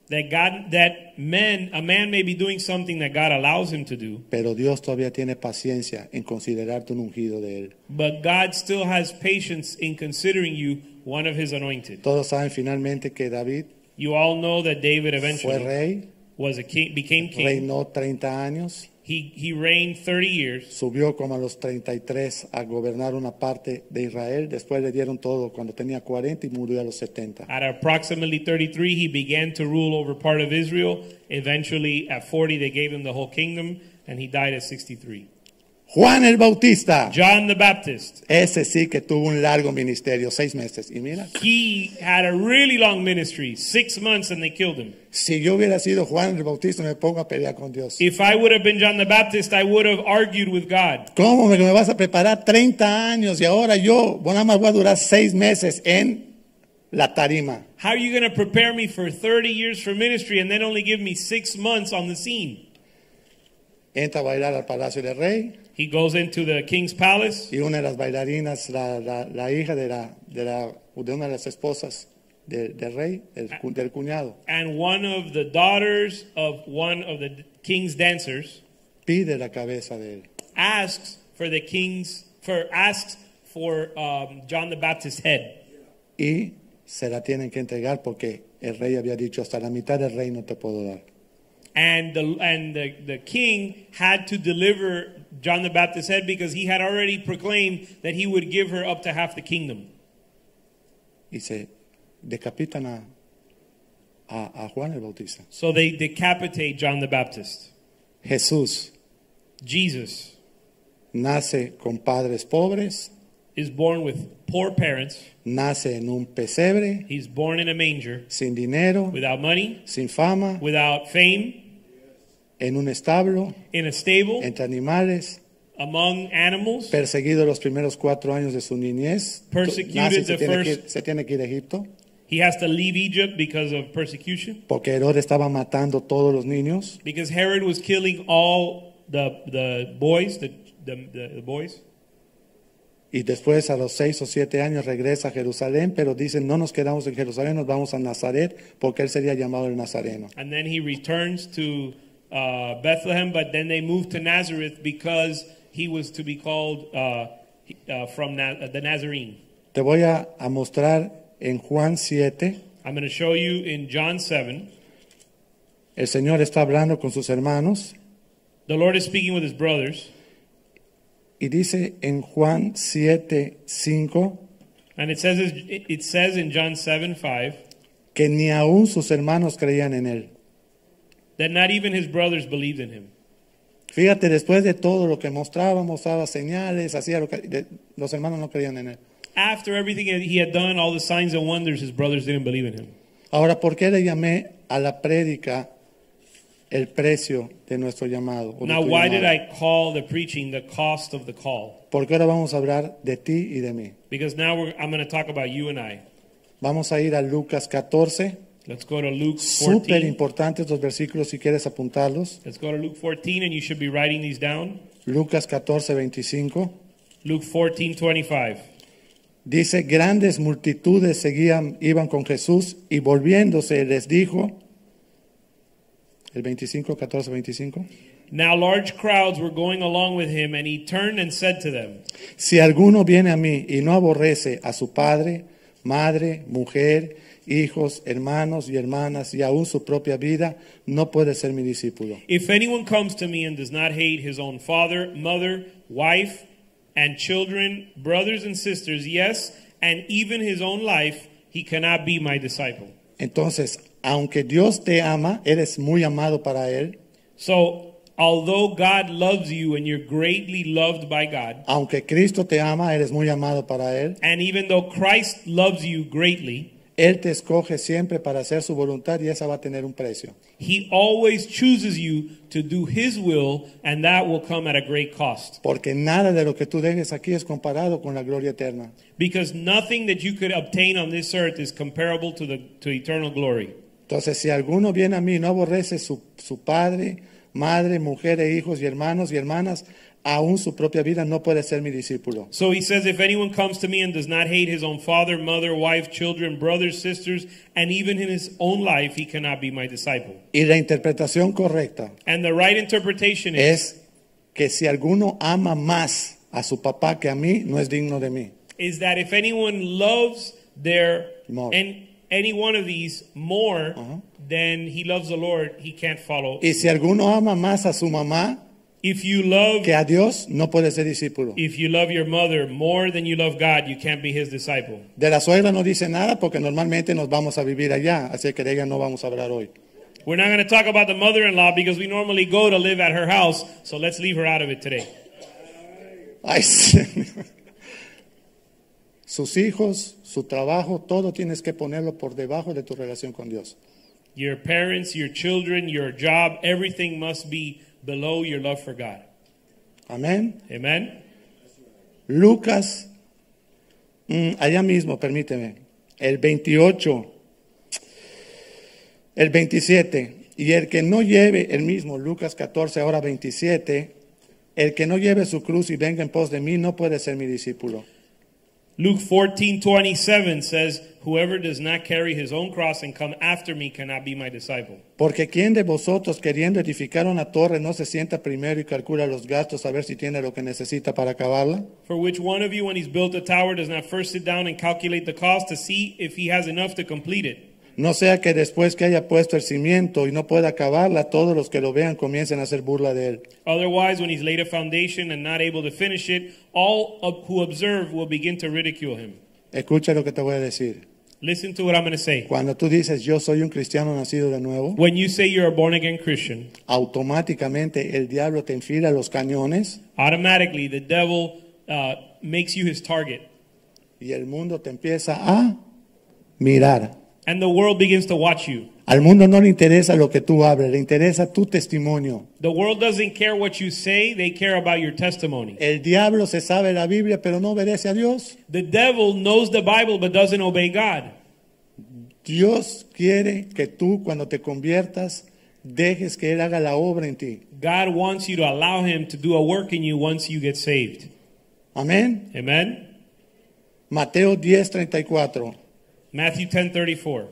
That God, that men, a man may be doing something that God allows him to do, pero Dios todavía tiene paciencia en considerarte un ungido de Él. but God still has patience in considering you one of his anointed. Todos saben finalmente que David You all know that David fue eventually rey, was a king, became king. reinó treinta años, He, he reigned thirty years. subió como a los treinta y tres a gobernar una parte de Israel, después le dieron todo cuando tenía cuarenta y murió a los setenta. At approximately thirty-three, he began to rule over part of Israel. Eventually, at forty, they gave him the whole kingdom, and he died at sixty-three. Juan el Bautista, John the Baptist, ese sí que tuvo un largo ministerio, seis meses. Y mira, he had a really long ministry, six months, and they killed him. si yo hubiera sido Juan el Bautista, me pongo a pelear con Dios. If I would have been John the Baptist, I would have argued with God. ¿Cómo me, me vas a preparar treinta años y ahora yo bueno, nada más voy a durar seis meses en la tarima? How are you going to prepare me for thirty years for ministry and then only give me six months on the scene? Entra a bailar al Palacio del Rey He goes into the king's palace, y una de las bailarinas, la, la, la hija de, la, de, la, de una de las esposas de- del rey, del, cu- del cuñado, and one of the daughters of one of the king's dancers pide la cabeza de él. asks for the king's for asks for um, John the Baptist's head, Y se la tienen que entregar porque el rey había dicho hasta la mitad del reino te puedo dar. and the and the, the king had to deliver John the Baptist's head because he had already proclaimed that he would give her up to half the kingdom. Y se decapitan a, a, a Juan el Bautista. So they decapitate John the Baptist. Jesús Jesus nace con padres pobres, is born with poor parents. nace en un pesebre, He's born in a manger, sin dinero, without money, sin fama, without fame, en un establo, in a stable, entre animales, among animals, perseguido los primeros cuatro años de su niñez. Persecuted Nace y se, the tiene que, first- ir- se tiene que ir a Egipto he has to leave Egypt because of persecution, porque Herodes estaba matando todos los niños. because Herod was killing all the the boys, the the, the, the boys. Y después a los seis o siete años regresa a Jerusalén, pero dicen no nos quedamos en Jerusalén, nos vamos a Nazaret porque él sería llamado el Nazareno. And then he returns to uh, Bethlehem, but then they moved to Nazareth because he was to be called uh, uh, from Na- the Nazarene. Te voy a, a mostrar en Juan siete, I'm going to show you in John seven. el Señor está hablando con sus hermanos The Lord is speaking with his brothers, y dice en Juan siete cinco and it says it says in John seven five que ni aún sus hermanos creían en él. that not even his brothers believed in him. Fíjate, después de todo lo que mostraba, mostraba señales, hacía lo que de- los hermanos no creían en él. After everything that he had done, all the signs and wonders, his brothers didn't believe in him. Ahora, ¿por qué le llamé a la prédica el precio de nuestro llamado? o de Now, tu why did llamado? I call the preaching the cost of the call? Porque ahora vamos a hablar de ti y de mí. Because now we're, I'm going to talk about you and I. Vamos a ir a Lucas catorce. Let's go to Luke Súper fourteen. importantes los versículos si quieres apuntarlos. Let's go to Luke fourteen, and you should be writing these down. Lucas catorce veinticinco. Luke fourteen twenty-five. Dice, grandes multitudes seguían, iban con Jesús y volviéndose les dijo, el veinticinco, catorce, veinticinco, Now large crowds were going along with him, and he turned and said to them, si alguno viene a mí y no aborrece a su padre, madre, mujer, hijos, hermanos y hermanas y aún su propia vida, no puede ser mi discípulo. If anyone comes to me and does not hate his own father, mother, wife, and children, brothers and sisters, yes, and even his own life, he cannot be my disciple. Entonces, aunque Dios te ama, eres muy amado para Él, So, although God loves you and you're greatly loved by God, aunque Cristo te ama, eres muy amado para Él, and even though Christ loves you greatly, Él te escoge siempre para hacer su voluntad y esa va a tener un precio. he always chooses you to do his will, and that will come at a great cost. Porque nada de lo que tú dejes aquí es comparado con la gloria eterna. Because nothing that you could obtain on this earth is comparable to the to eternal glory. Entonces, si alguno viene a mí y no aborrece su, su padre, madre, mujer e hijos y hermanos y hermanas, aún su propia vida, no puede ser mi discípulo. So he says, if anyone comes to me and does not hate his own father, mother, wife, children, brothers, sisters, and even in his own life, he cannot be my disciple. Y la interpretación correcta And the right interpretation is, es que si alguno ama más a su papá que a mí, no es digno de mí. is that if anyone loves their More. and any one of these more Uh-huh. than he loves the Lord, he can't follow. Y si alguno ama más a su mamá If you love que a Dios, no puede ser discípulo. if you love your mother more than you love God, you can't be his disciple. De la suegra no dice nada porque normalmente nos vamos a vivir allá, así que de ella no vamos a hablar hoy. We're not going to talk about the mother-in-law because we normally go to live at her house, so let's leave her out of it today. Ay, Señor. Sus hijos, su trabajo, todo tienes que ponerlo por debajo de tu relación con Dios. Your parents, your children, your job, everything must be below your love for God. Amén. Amen? Lucas, mm, allá mismo, permíteme, el veintiocho, el veintisiete, y el que no lleve, el mismo, Lucas catorce, ahora veintisiete, el que no lleve su cruz y venga en pos de mí no puede ser mi discípulo. Luke fourteen twenty-seven says, whoever does not carry his own cross and come after me cannot be my disciple. Porque ¿quién de vosotros queriendo edificar una torre no se sienta primero y calcula los gastos a ver si tiene lo que necesita para acabarla? For which one of you, when he's built a tower, does not first sit down and calculate the cost to see if he has enough to complete it? No sea que después que haya puesto el cimiento y no pueda acabarla, todos los que lo vean comiencen a hacer burla de él. Otherwise, when he's laid a foundation and not able to finish it, all of who observe will begin to ridicule him. Escucha lo que te voy a decir. Listen to what I'm going to say. Cuando tú dices yo soy un cristiano nacido de nuevo, When you say you're a born-again Christian, automáticamente el diablo te enfila los cañones automatically the devil uh, makes you his target. y el mundo te empieza a mirar. And the world begins to watch you. Al mundo no le interesa lo que tú hables, le interesa tu testimonio. The world doesn't care what you say, they care about your testimony. El diablo se sabe la Biblia, pero no obedece a Dios. The devil knows the Bible but doesn't obey God. Dios quiere que tú cuando te conviertas dejes que Él haga la obra en ti. God wants you to allow him to do a work in you once you get saved. Amén. Amen? Mateo diez treinta y cuatro. Matthew ten thirty-four.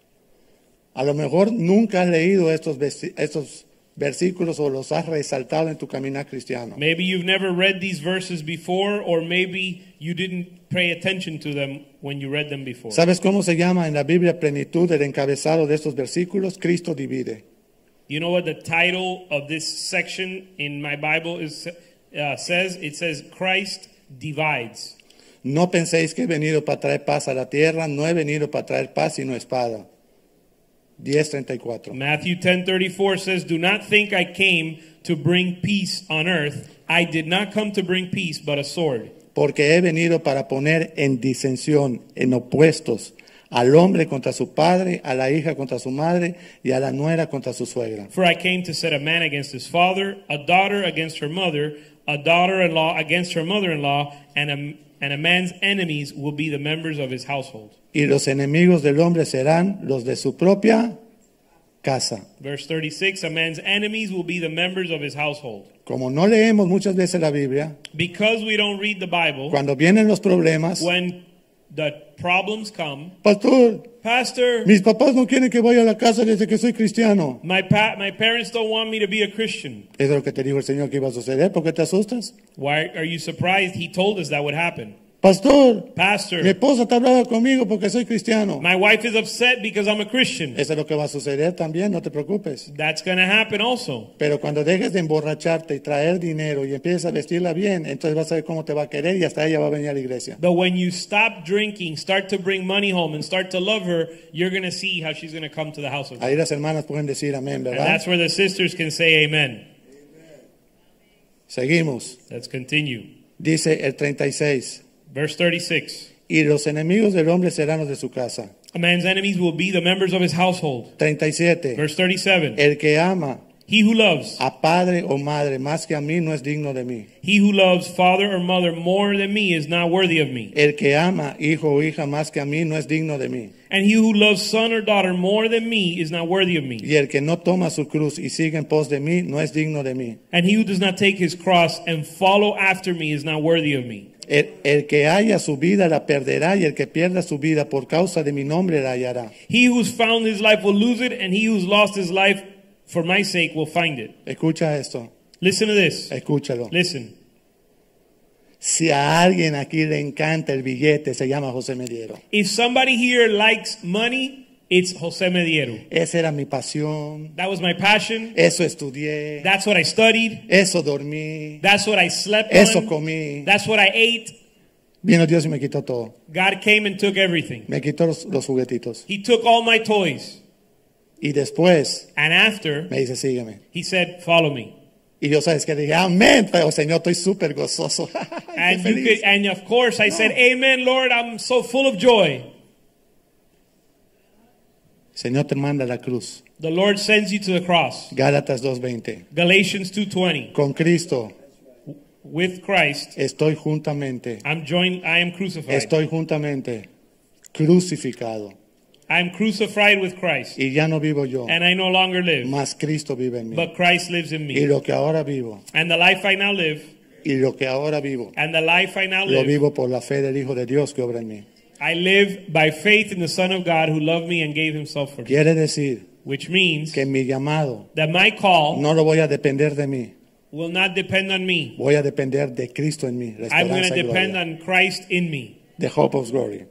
A lo mejor nunca has leído estos, estos versículos o los has resaltado en tu caminar cristiano. Maybe you've never read these verses before, or maybe you didn't pay attention to them when you read them before. ¿Sabes cómo se llama en la Biblia plenitud el encabezado de estos versículos? Cristo divide. You know what the title of this section in my Bible is, uh, says? It says, Christ divides. No penséis que he venido para traer paz a la tierra, no he venido para traer paz sino espada. diez treinta y cuatro. Matthew ten thirty-four says, do not think I came to bring peace on earth. I did not come to bring peace, but a sword. Porque he venido para poner en disensión, en opuestos, al hombre contra su padre, a la hija contra su madre y a la nuera contra su suegra. For I came to set a man against his father, a daughter against her mother, a daughter-in-law against her mother-in-law, and a, and a man's enemies will be the members of his household. Y los enemigos del hombre serán los de su propia casa. Verse thirty-six, a man's enemies will be the members of his household. Como no leemos muchas veces la Biblia, Because we don't read the Bible, cuando vienen los problemas, when the problems come, pastor, Pastor, mis papás no quieren que vaya a la casa desde que soy cristiano. my pa- my parents don't want me to be a Christian. Eso es lo que te dijo el Señor que iba a suceder. ¿Por qué te asustas? Why are you surprised? He told us that would happen. Pastor, mi Pastor, esposa está brava conmigo porque soy cristiano. my wife is upset because I'm a Christian. Eso es lo que va a suceder también, no te preocupes. That's going to happen also. Pero cuando dejes de emborracharte y traer dinero y empieces a vestirla bien, entonces vas a ver cómo te va a querer y hasta ella va a venir a la iglesia. But when you stop drinking, start to bring money home, and start to love her, you're going to see how she's going to come to the house of God. Ahí las hermanas pueden decir amén, And ¿verdad? that's where the sisters can say amen. Seguimos. Let's continue. Dice el treinta y seis. Verse thirty-six. Y los enemigos del hombre serán los de su casa. A man's enemies will be the members of his household. treinta y siete. Verse thirty-seven. El que ama He who loves, a padre o madre más que a mí no es digno de mí. he who loves father or mother more than me is not worthy of me. El que ama hijo o hija más que a mí no es digno de mí. And he who loves son or daughter more than me is not worthy of me. Y el que no toma su cruz y sigue en pos de mí no es digno de mí. And he who does not take his cross and follow after me is not worthy of me. El, el que haya su vida la perderá y el que pierda su vida por causa de mi nombre la hallará. He who's found his life will lose it, and he who's lost his life for my sake will find it. Escucha esto, Listen to this. escúchalo. Listen. Si a alguien aquí le encanta el billete, se llama José Mediero. If somebody here likes money, it's Jose Mediero. Esa era mi pasión, That was my passion. eso estudié, That's what I studied. eso dormí, That's what I slept eso on. comí. That's what I ate. Vino Dios y me quitó todo. God came and took everything. Me quitó los, los juguetitos. He took all my toys. Y después And after, me dice, sígueme. he said, follow me. Y yo sabes que dije, amén, pero Señor, estoy súper gozoso. Qué And you feliz. could, and of course I said, amen, Lord, I'm so full of joy. Señor te manda a la cruz. The Lord sends you to the cross. Gálatas dos veinte. Galatians two twenty. Con Cristo With Christ, estoy juntamente, I'm joined, I am crucified. estoy juntamente crucificado. I am crucified with Christ. Y ya no vivo yo, And I no longer live, más Cristo vive en mí. but Christ lives in Y me. lo que ahora vivo, And the life I now live, y lo que ahora vivo, and the life I now lo live, vivo por la fe del Hijo de Dios que obra en mí. I live by faith in the Son of God who loved me and gave himself for me. Quiere decir Which means que mi llamado that my call no lo voy a depender de mí, will not depend on me. voy a depender de Cristo en mí, la I'm going to esperanza y depend gloria, on Christ in me. the hope of glory.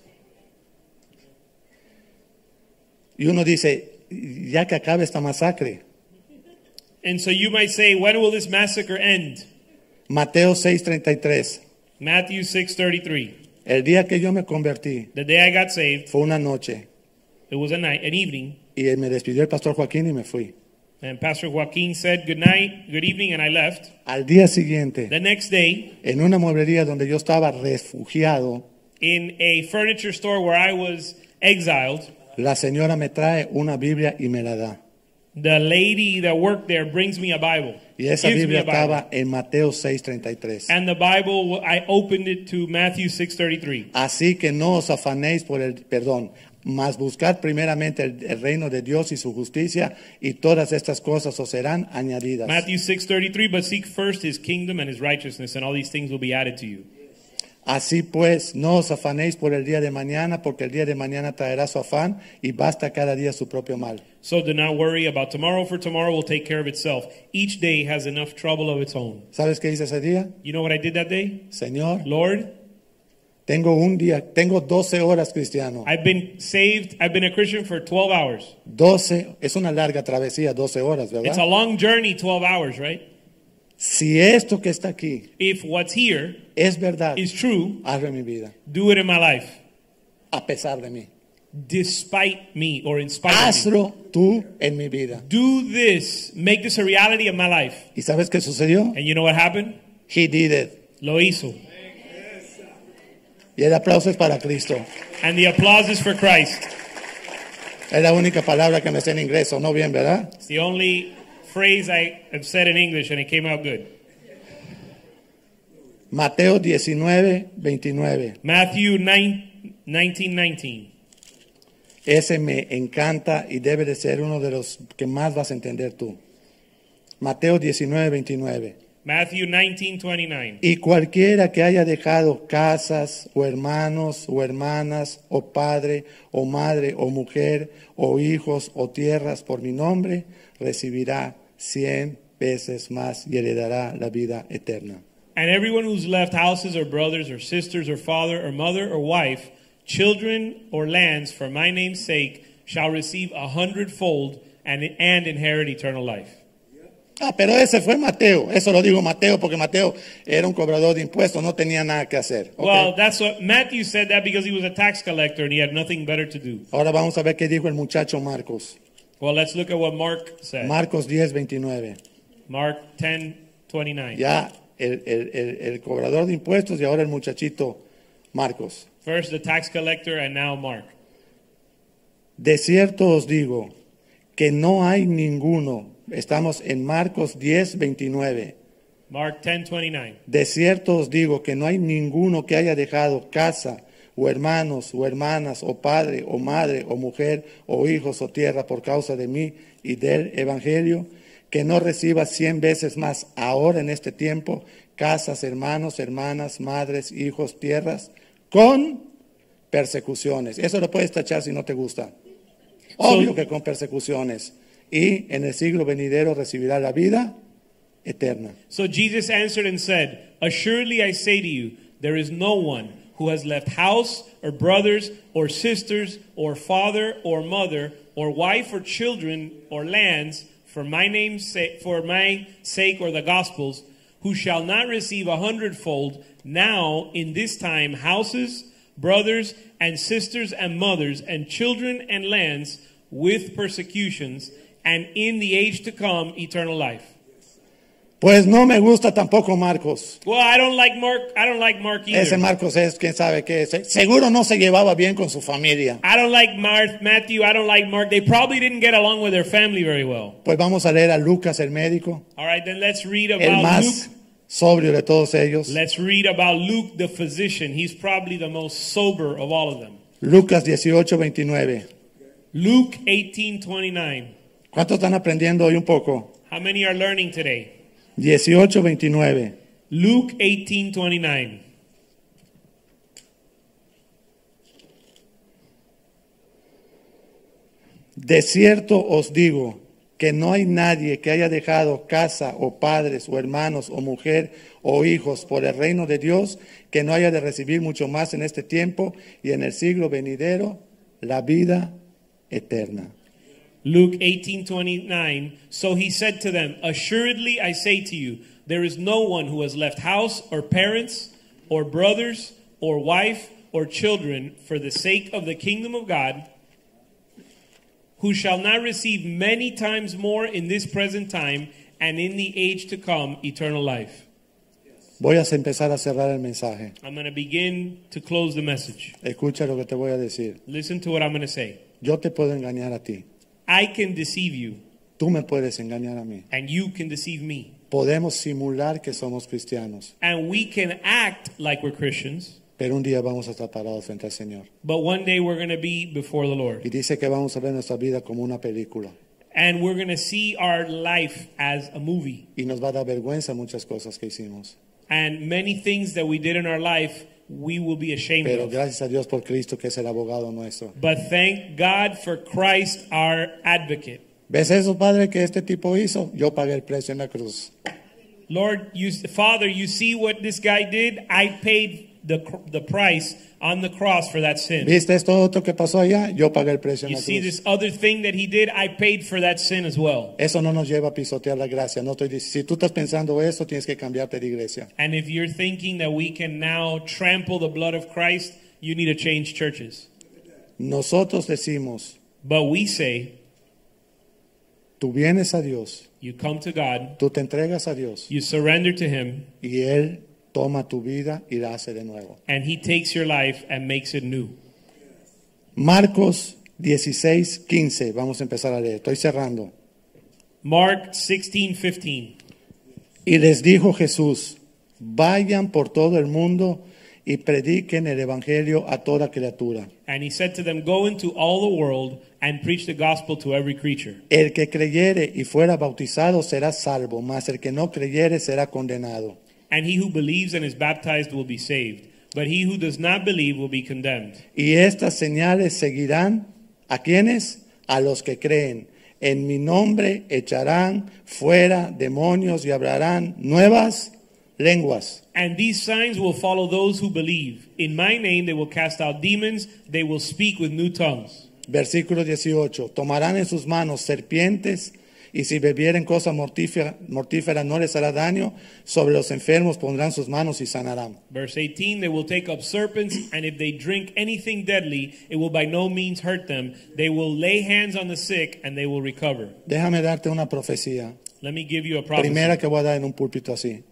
Y uno dice, ya que acabe esta masacre, And so you might say, when will this massacre end? Mateo seis treinta y tres, Matthew six thirty-three. el día que yo me convertí The day I got saved, fue una noche it was a night, an evening, y me despidió el pastor Joaquín y me fui. and Pastor Joaquin said good night, good evening, and I left. Al día siguiente, The next day, en una mueblería donde yo estaba refugiado, in a furniture store where I was exiled, la señora me trae una Biblia y me la da. the lady that worked there brings me a Bible. Y esa Gives me Biblia a Bible. estaba en Mateo seis treinta y tres. And the Bible, I opened it to Matthew six thirty-three. Así que no os afanéis por el perdón, mas buscad primeramente el, el reino de Dios y su justicia, y todas estas cosas os serán añadidas. Matthew six thirty-three, but seek first his kingdom and his righteousness, and all these things will be added to you. Así pues, no os afanéis por el día de mañana, porque el día de mañana traerá su afán, y basta cada día su propio mal. So do not worry about tomorrow, for tomorrow will take care of itself. Each day has enough trouble of its own. ¿Sabes qué hice ese día? You know what I did that day? Señor, Lord, tengo un día, tengo doce horas cristiano. I've been saved, I've been a Christian for twelve hours. doce, es una larga travesía, doce horas, It's a ¿verdad? long journey, twelve hours, right? Si esto que está aquí If what's here es verdad, is true, hazlo en mi vida, do it in my life, a pesar de mí. despite me or in spite of me. Hazlo tú en mi vida. Do this, make this a reality of my life. ¿Y sabes qué sucedió? And you know what happened? He did it. Lo hizo. Y el aplauso es para Cristo. And the applause is for Christ. Es la única palabra que me sé en inglés, ¿o no bien, verdad? It's the only phrase I have said in English, and it came out good. Mateo diecinueve, veintinueve. Matthew nine, nineteen nineteen. Ese me encanta y debe de ser uno de los que más vas a entender tú. Mateo diecinueve, veintinueve. Matthew nineteen twenty-nine. Y cualquiera que haya dejado casas o hermanos o hermanas o padre o madre o mujer o hijos o tierras por mi nombre, recibirá cien veces más y heredará la vida eterna. And everyone who's left houses or brothers or sisters or father or mother or wife, children or lands for my name's sake shall receive a hundredfold and, and inherit eternal life. Ah, pero ese fue Mateo. Eso lo digo Mateo porque Mateo era un cobrador de impuestos, no tenía nada que hacer. ¿Ok? Well, that's what Matthew said that because he was a tax collector and he had nothing better to do. Ahora vamos a ver qué dijo el muchacho Marcos. Well, let's look at what Mark said. Marcos diez, veintinueve. Mark ten twenty-nine. Ya el, el, el, el cobrador de impuestos y ahora el muchachito Marcos. First the tax collector and now Mark. De cierto os digo que no hay ninguno Estamos en Marcos diez, veintinueve. Mark ten twenty-nine. De cierto os digo que no hay ninguno que haya dejado casa, o hermanos, o hermanas, o padre, o madre, o mujer, o hijos, o tierra por causa de mí y del Evangelio, que no reciba cien veces más ahora en este tiempo casas, hermanos, hermanas, madres, hijos, tierras, con persecuciones. Eso lo puedes tachar si no te gusta. Obvio So- que con persecuciones. Y en el siglo venidero recibirá la vida eterna. So Jesus answered and said, assuredly I say to you, there is no one who has left house or brothers or sisters or father or mother or wife or children or lands for my name's sake, for my sake or the gospel's, who shall not receive a hundredfold now in this time houses, brothers and sisters and mothers and children and lands with persecutions, and in the age to come eternal life. Pues no me gusta tampoco Marcos. Well, I don't like Mark. I don't like Mark either. Ese Marcos es, quién sabe qué es. Seguro no se llevaba bien con su familia. I don't like Mar- Matthew. I don't like Mark. They probably didn't get along with their family very well. Pues vamos a leer a Lucas el médico, All right, then let's read el about más Luke. sobrio de todos ellos. Let's read about Luke the physician. He's probably the most sober of all of them. Lucas dieciocho, veintinueve. Luke eighteen twenty-nine. ¿Cuántos están aprendiendo hoy un poco? How many are learning today? dieciocho, veintinueve. Luke eighteen twenty-nine. De cierto os digo que no hay nadie que haya dejado casa o padres o hermanos o mujer o hijos por el reino de Dios que no haya de recibir mucho más en este tiempo y en el siglo venidero la vida eterna. Luke eighteen twenty-nine. So he said to them, assuredly I say to you, there is no one who has left house or parents or brothers or wife or children for the sake of the kingdom of God, who shall not receive many times more in this present time and in the age to come eternal life. Voy a empezar a cerrar el mensaje. I'm going to begin to close the message. Escucha lo que te voy a decir. Listen to what I'm going to say. Yo te puedo engañar a ti. I can deceive you, Tú me puedes engañar a mí. and you can deceive me. Podemos simular que somos cristianos, And we can act like we're Christians, pero un día vamos a estar parados frente al Señor. but one day we're going to be before the Lord. Y dice que vamos a ver nuestra vida como una película. And we're going to see our life as a movie. Y nos va a dar vergüenza muchas cosas que hicimos. And many things that we did in our life, we will be ashamed Pero of. gracias a Dios por Cristo, que es el abogado nuestro. But thank God for Christ, our advocate. ¿Ves eso, Padre, que este tipo hizo? Yo pagué el precio en la cruz. Lord, you, Father, you see what this guy did? I paid the, the price on the cross for that sin. ¿Viste esto otro que pasó allá? Yo pagué el precio en You la see cruz. this other thing that he did? I paid for that sin as well. Eso no nos lleva a pisotear la gracia. No estoy dic- si tú estás pensando eso, tienes que cambiarte de iglesia. And if you're thinking that we can now trample the blood of Christ, you need to change churches. Nosotros decimos, But we say, tú vienes a Dios, you come to God, tú te entregas a Dios you surrender to Him, y Él toma tu vida y la hace de nuevo. and He takes your life and makes it new. Marcos dieciséis, quince. Vamos a empezar a leer. Estoy cerrando. Mark sixteen fifteen. Y les dijo Jesús, vayan por todo el mundo y prediquen el evangelio a toda criatura. And He said to them, go into all the world and preach the gospel to every creature. El que creyere y fuera bautizado será salvo, mas el que no creyere será condenado. And he who believes and is baptized will be saved, but he who does not believe will be condemned. Y estas señales seguirán a quienes, a los que creen. En mi nombre echarán fuera demonios y hablarán nuevas lenguas. And these signs will follow those who believe. In my name they will cast out demons, they will speak with new tongues. Versículo dieciocho. Tomarán en sus manos serpientes y si bebieren cosa mortífera, mortífera no les hará daño. Sobre los enfermos pondrán sus manos y sanarán. Verse eighteen, they will take up serpents, and if they drink anything deadly, it will by no means hurt them. They will lay hands on the sick, and they will recover. Déjame darte una profecía. Let me give you a prophecy. Primera que voy a dar en un púlpito así.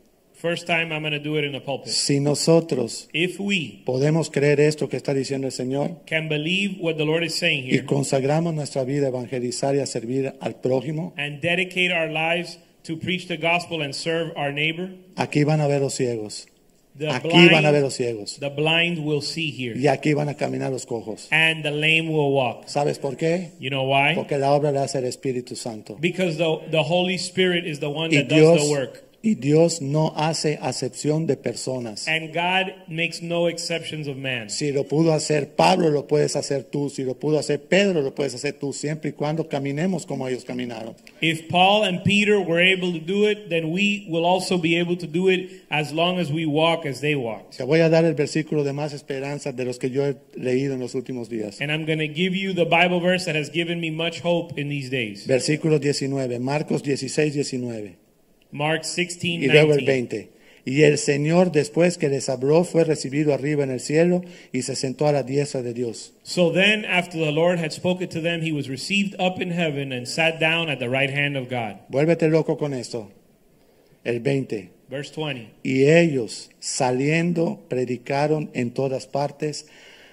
First time I'm going to do it in the pulpit. Si nosotros If we podemos creer esto que está diciendo el Señor can believe what the Lord is saying y here consagramos nuestra vida a evangelizar y a servir al prójimo, and dedicate our lives to preach the gospel and serve our neighbor, aquí van a ver los ciegos, the aquí van a ver blind, los ciegos the blind will see here, y aquí van a caminar los cojos. and the lame will walk. ¿Sabes por qué? You know why? Porque la obra la hace el Espíritu Santo. Because the, the Holy Spirit is the one Y that does Dios, the work. y Dios no hace acepción de personas. And God makes no exceptions of man. Si lo pudo hacer Pablo, lo puedes hacer tú. Si lo pudo hacer Pedro, lo puedes hacer tú, siempre y cuando caminemos como ellos caminaron. If Paul and Peter were able to do it, then we will also be able to do it as long as we walk as they walked. Te voy a dar el versículo de más esperanza de los que yo he leído en los últimos días. And I'm going to give you the Bible verse that has given me much hope in these days. Versículo diecinueve, Marcos dieciséis, diecinueve. Mark sixteen, Y luego el nineteen. veinte. Y el Señor, después que les habló, fue recibido arriba en el cielo y se sentó a la diestra de Dios. So then, after the Lord had spoken to them, he was received up in heaven and sat down at the right hand of God. Vuélvete loco con esto. El veinte. Verse twenty. Y ellos, saliendo, predicaron en todas partes,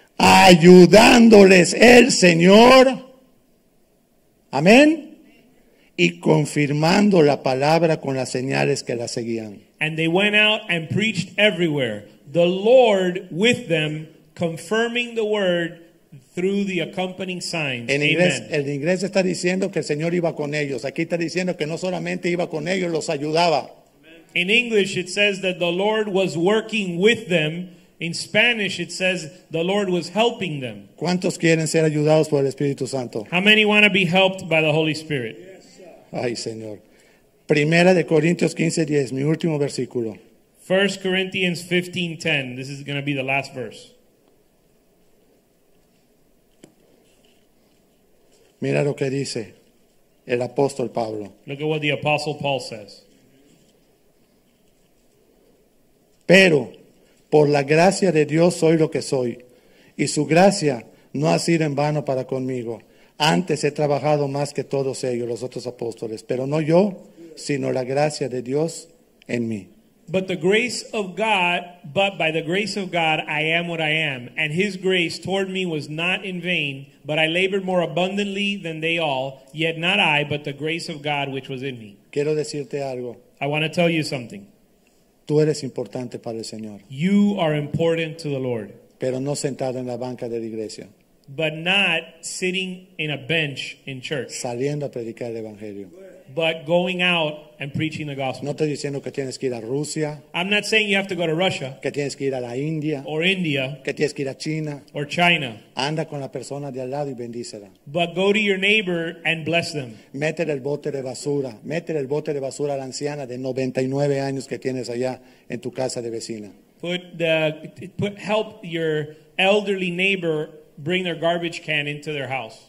ayudándoles el Señor. Amén. Y confirmando la palabra con las señales que la seguían. And they went out and preached everywhere, the Lord with them, confirming the word through the accompanying signs. En inglés, Amen. el inglés está diciendo que el Señor iba con ellos. Aquí está diciendo que no solamente iba con ellos, los ayudaba. In English, it says that the Lord was working with them. In Spanish, it says the Lord was helping them. ¿Cuántos quieren ser ayudados por el Espíritu Santo? How many want to be helped by the Holy Spirit? Ay, Señor. Primera de Corintios quince, diez, mi último versículo. First Corinthians fifteen ten. This is going to be the last verse. Mira lo que dice el apóstol Pablo. Look at what the Apostle Paul says. Pero por la gracia de Dios soy lo que soy, y su gracia no ha sido en vano para conmigo. Antes he trabajado más que todos ellos, los otros apóstoles, pero no yo, sino la gracia de Dios en mí. But the grace of God, but by the grace of God, I am what I am. And his grace toward me was not in vain, but I labored more abundantly than they all. Yet not I, but the grace of God which was in me. Quiero decirte algo. I want to tell you something. Tú eres importante para el Señor, You are important to the Lord, pero no sentado en la banca de la iglesia, but not sitting in a bench in church, saliendo a predicar el Evangelio. but going out and preaching the gospel. No estoy diciendo que tienes que ir a Rusia, I'm not saying you have to go to Russia que tienes que ir a la India, or India que tienes que ir a China. or China, Anda con la persona de al lado y bendícela. but go to your neighbor and bless them. Métele el bote de basura, métele el bote de basura a la anciana de noventa y nueve años que tienes allá en tu casa de vecina. Put the put help your elderly neighbor bring their garbage can into their house.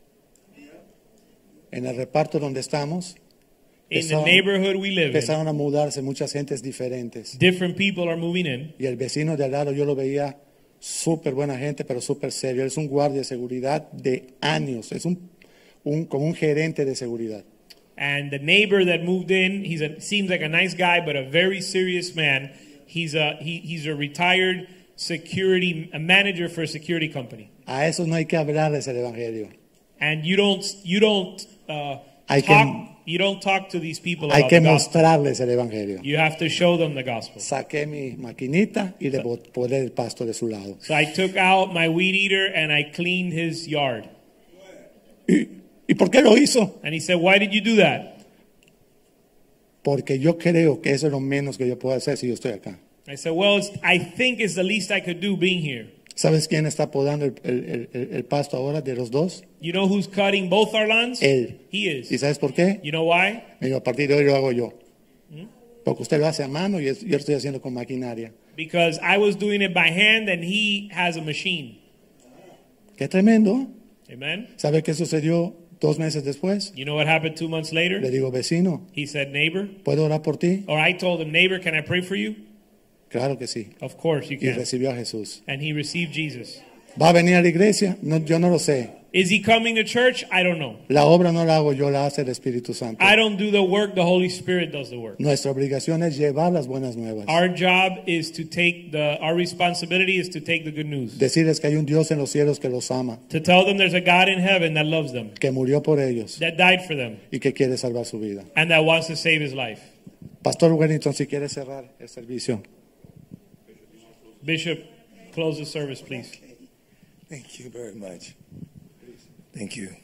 En el reparto donde estamos, In the empezaron, neighborhood we live in, empezaron a mudarse muchas gentes diferentes. different people are moving in. Y el vecino de al lado yo lo veía súper buena gente, pero súper serio. Él es un guardia de seguridad de años, es un, un, como un gerente de seguridad. And the neighbor that moved in, he's a, seems like a nice guy, but a very serious man. He's a he, he's a retired security a manager for a security company. A esos no hay que hablarles el Evangelio. And you don't you don't uh, Hay talk que- you don't talk to these people Hay about que the gospel. mostrarles el Evangelio. You have to show them the gospel. Saqué mi maquinita y le poné el pasto de su lado. So I took out my weed eater and I cleaned his yard. ¿Y, ¿Y por qué lo hizo? And he said, "Why did you do that?" Porque yo creo que eso es lo menos que yo puedo hacer si yo estoy acá. I said, "Well, it's, I think it's the least I could do being here." ¿Sabes quién está podando el, el- el- el pasto ahora de los dos? You know who's cutting both our lawns? Él. He ¿Y is. sabes por qué? You know why? Me dijo, a partir de hoy lo hago yo. Porque usted lo hace a mano y es- yo lo estoy haciendo con maquinaria. Because I was doing it by hand and he has a machine. Qué tremendo. Amen. ¿Sabe qué sucedió dos meses después? You know what happened two months Le later? digo, vecino, He said, "Neighbor," ¿puedo orar por ti? or I told him, "Neighbor, can I pray for you?" Claro que sí. Of course you Y can. recibió a Jesús. And he received Jesus. ¿Va a venir a la iglesia? No, yo no lo sé. Is he coming to church? I don't know. La obra no la hago yo, la hace el Espíritu Santo. I don't do the work, the Holy Spirit does the work. Nuestra obligación es llevar las buenas nuevas. Our job is to take the, our responsibility is to take the good news. Decirles que hay un Dios en los cielos que los ama, To tell them there's a God in heaven that loves them, que murió por ellos that died for them, y que quiere salvar su vida. and that wants to save his life. Pastor Wellington, si quiere cerrar el servicio. Bishop, close the service, please. Thank you very much. Thank you.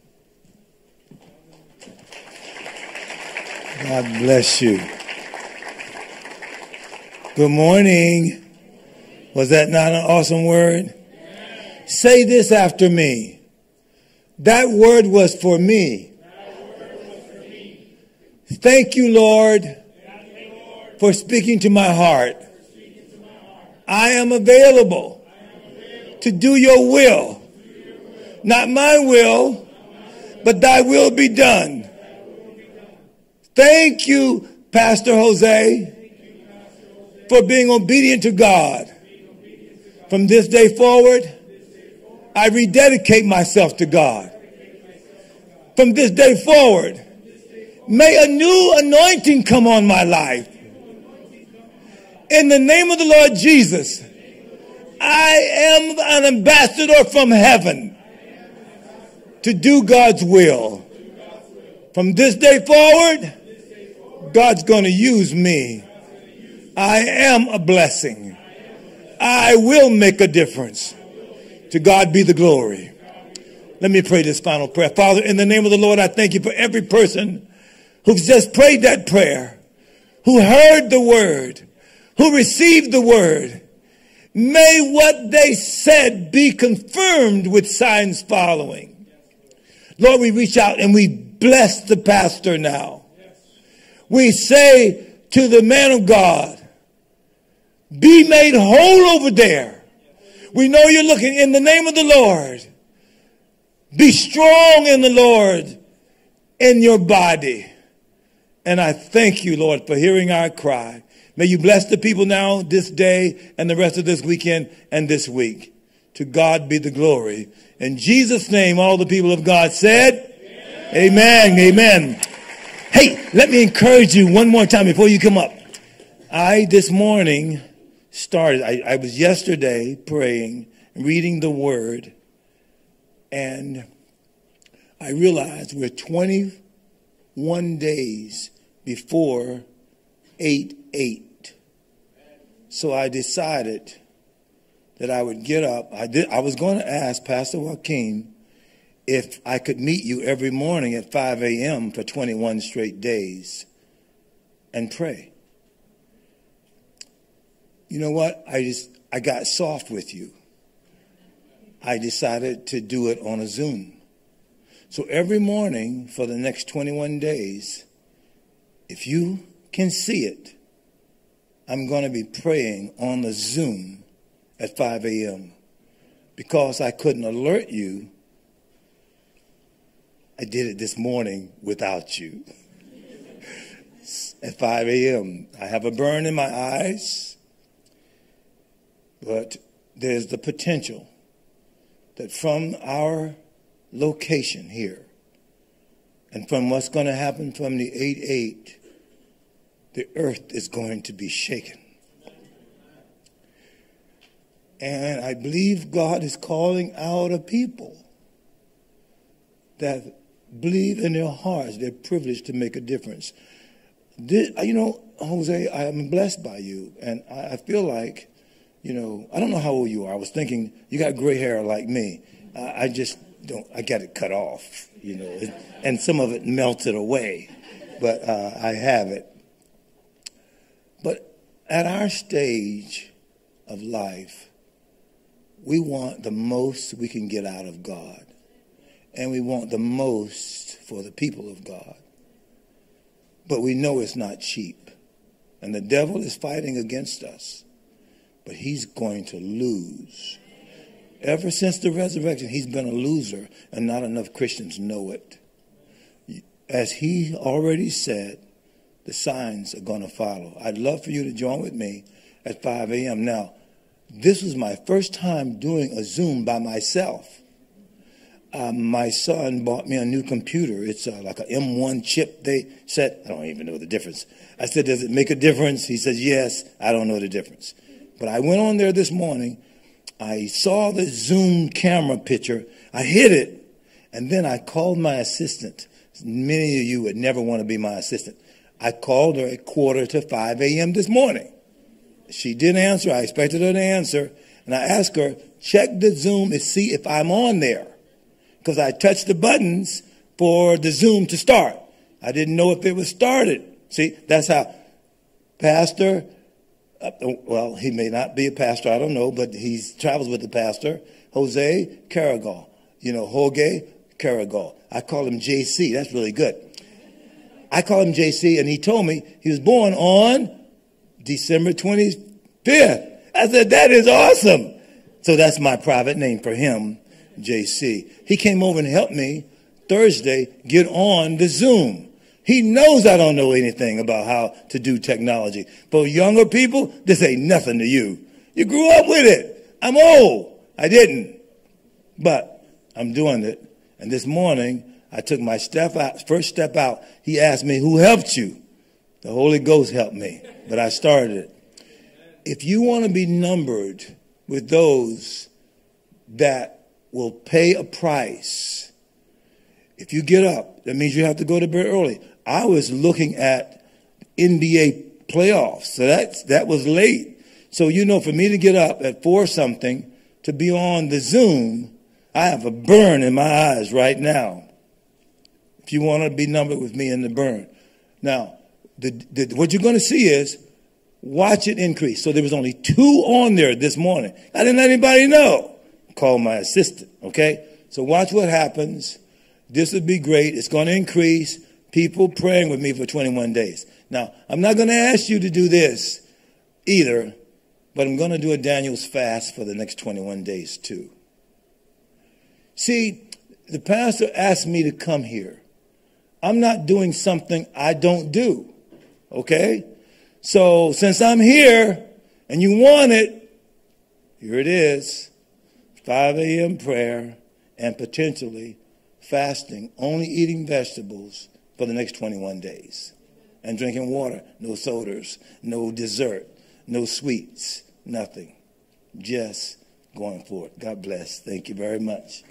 God bless you. Good morning. Was that not an awesome word? Say this after me. That word was for me. Thank you, Lord, for speaking to my heart. I am available to do your will. Not my will, but thy will be done. Thank you, Pastor Jose, for being obedient to God. From this day forward, I rededicate myself to God. From this day forward, may a new anointing come on my life. In the name of the Lord Jesus, I am an ambassador from heaven to do God's will. From this day forward, God's going to use me. I am a blessing. I will make a difference. To God be the glory. Let me pray this final prayer. Father, in the name of the Lord, I thank you for every person who's just prayed that prayer, who heard the word, who received the word. May what they said be confirmed with signs following. Lord, we reach out and we bless the pastor now. We say to the man of God, be made whole over there. We know you're looking in the name of the Lord. Be strong in the Lord in your body. And I thank you, Lord, for hearing our cry. May you bless the people now this day and the rest of this weekend and this week. To God be the glory. In Jesus' name, all the people of God said, Amen. Amen. Amen. Hey, let me encourage you one more time before you come up. I, this morning, started, I, I was yesterday praying, reading the word, and I realized we're twenty-one days before eight eight. So I decided that I would get up. I did. I was going to ask Pastor Joaquin if I could meet you every morning at five a.m. for twenty-one straight days and pray. You know what? I just, I got soft with you. I decided to do it on a Zoom. So every morning for the next twenty-one days, if you can see it, I'm going to be praying on the Zoom at five a.m. Because I couldn't alert you, I did it this morning without you. At five a.m. I have a burn in my eyes, but there's the potential that from our location here and from what's going to happen from the eight eight, the earth is going to be shaken. And I believe God is calling out a people that believe in their hearts they're privileged to make a difference. This, you know, Jose, I am blessed by you. And I, I feel like, you know, I don't know how old you are. I was thinking, you got gray hair like me. I, I just don't, I got it cut off, you know, it, and some of it melted away. But uh, I have it. But at our stage of life, we want the most we can get out of God. And we want the most for the people of God. But we know it's not cheap. And the devil is fighting against us. But he's going to lose. Ever since the resurrection, he's been a loser. And not enough Christians know it. As he already said, the signs are going to follow. I'd love for you to join with me at five a.m. Now, This was my first time doing a Zoom by myself. Um, my son bought me a new computer. It's uh, like an M one chip they said. I don't even know the difference. I said, does it make a difference? He says, yes. I don't know the difference. But I went on there this morning. I saw the Zoom camera picture. I hit it. And then I called my assistant. Many of you would never want to be my assistant. I called her at quarter to five a.m. this morning. She didn't answer. I expected her to answer. And I asked her, check the Zoom and see if I'm on there. Because I touched the buttons for the Zoom to start. I didn't know if it was started. See, that's how Pastor, uh, well, he may not be a pastor, I don't know, but he travels with the pastor, Jose Carregal. You know, Jorge Carregal. I call him J C. That's really good. I call him J C, and he told me he was born on December twenty-fifth. I said, that is awesome. So that's my private name for him. J C. He came over and helped me Thursday get on the Zoom. He knows I don't know anything about how to do technology. For younger people, this ain't nothing to you. You grew up with it. I'm old. I didn't. But I'm doing it. And this morning, I took my step out, first step out. He asked me, who helped you? The Holy Ghost helped me. But I started it. If you want to be numbered with those that will pay a price. If you get up, that means you have to go to bed early. I was looking at N B A playoffs, so that's, that was late. So, you know, for me to get up at four something to be on the Zoom, I have a burn in my eyes right now. If you want to be numbered with me in the burn. Now, the, the, what you're going to see is watch it increase. So there was only two on there this morning. I didn't let anybody know. Call my assistant, okay? So watch what happens. This would be great. It's going to increase. People praying with me for twenty-one days. Now, I'm not going to ask you to do this either, but I'm going to do a Daniel's fast for the next twenty-one days too. See, the pastor asked me to come here. I'm not doing something I don't do, okay? So since I'm here and you want it, here it is. five a.m. prayer and potentially fasting, only eating vegetables for the next twenty-one days. And drinking water, no sodas, no dessert, no sweets, nothing. Just going for it. God bless. Thank you very much.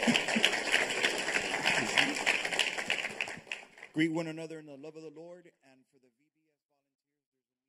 Greet one another in the love of the Lord.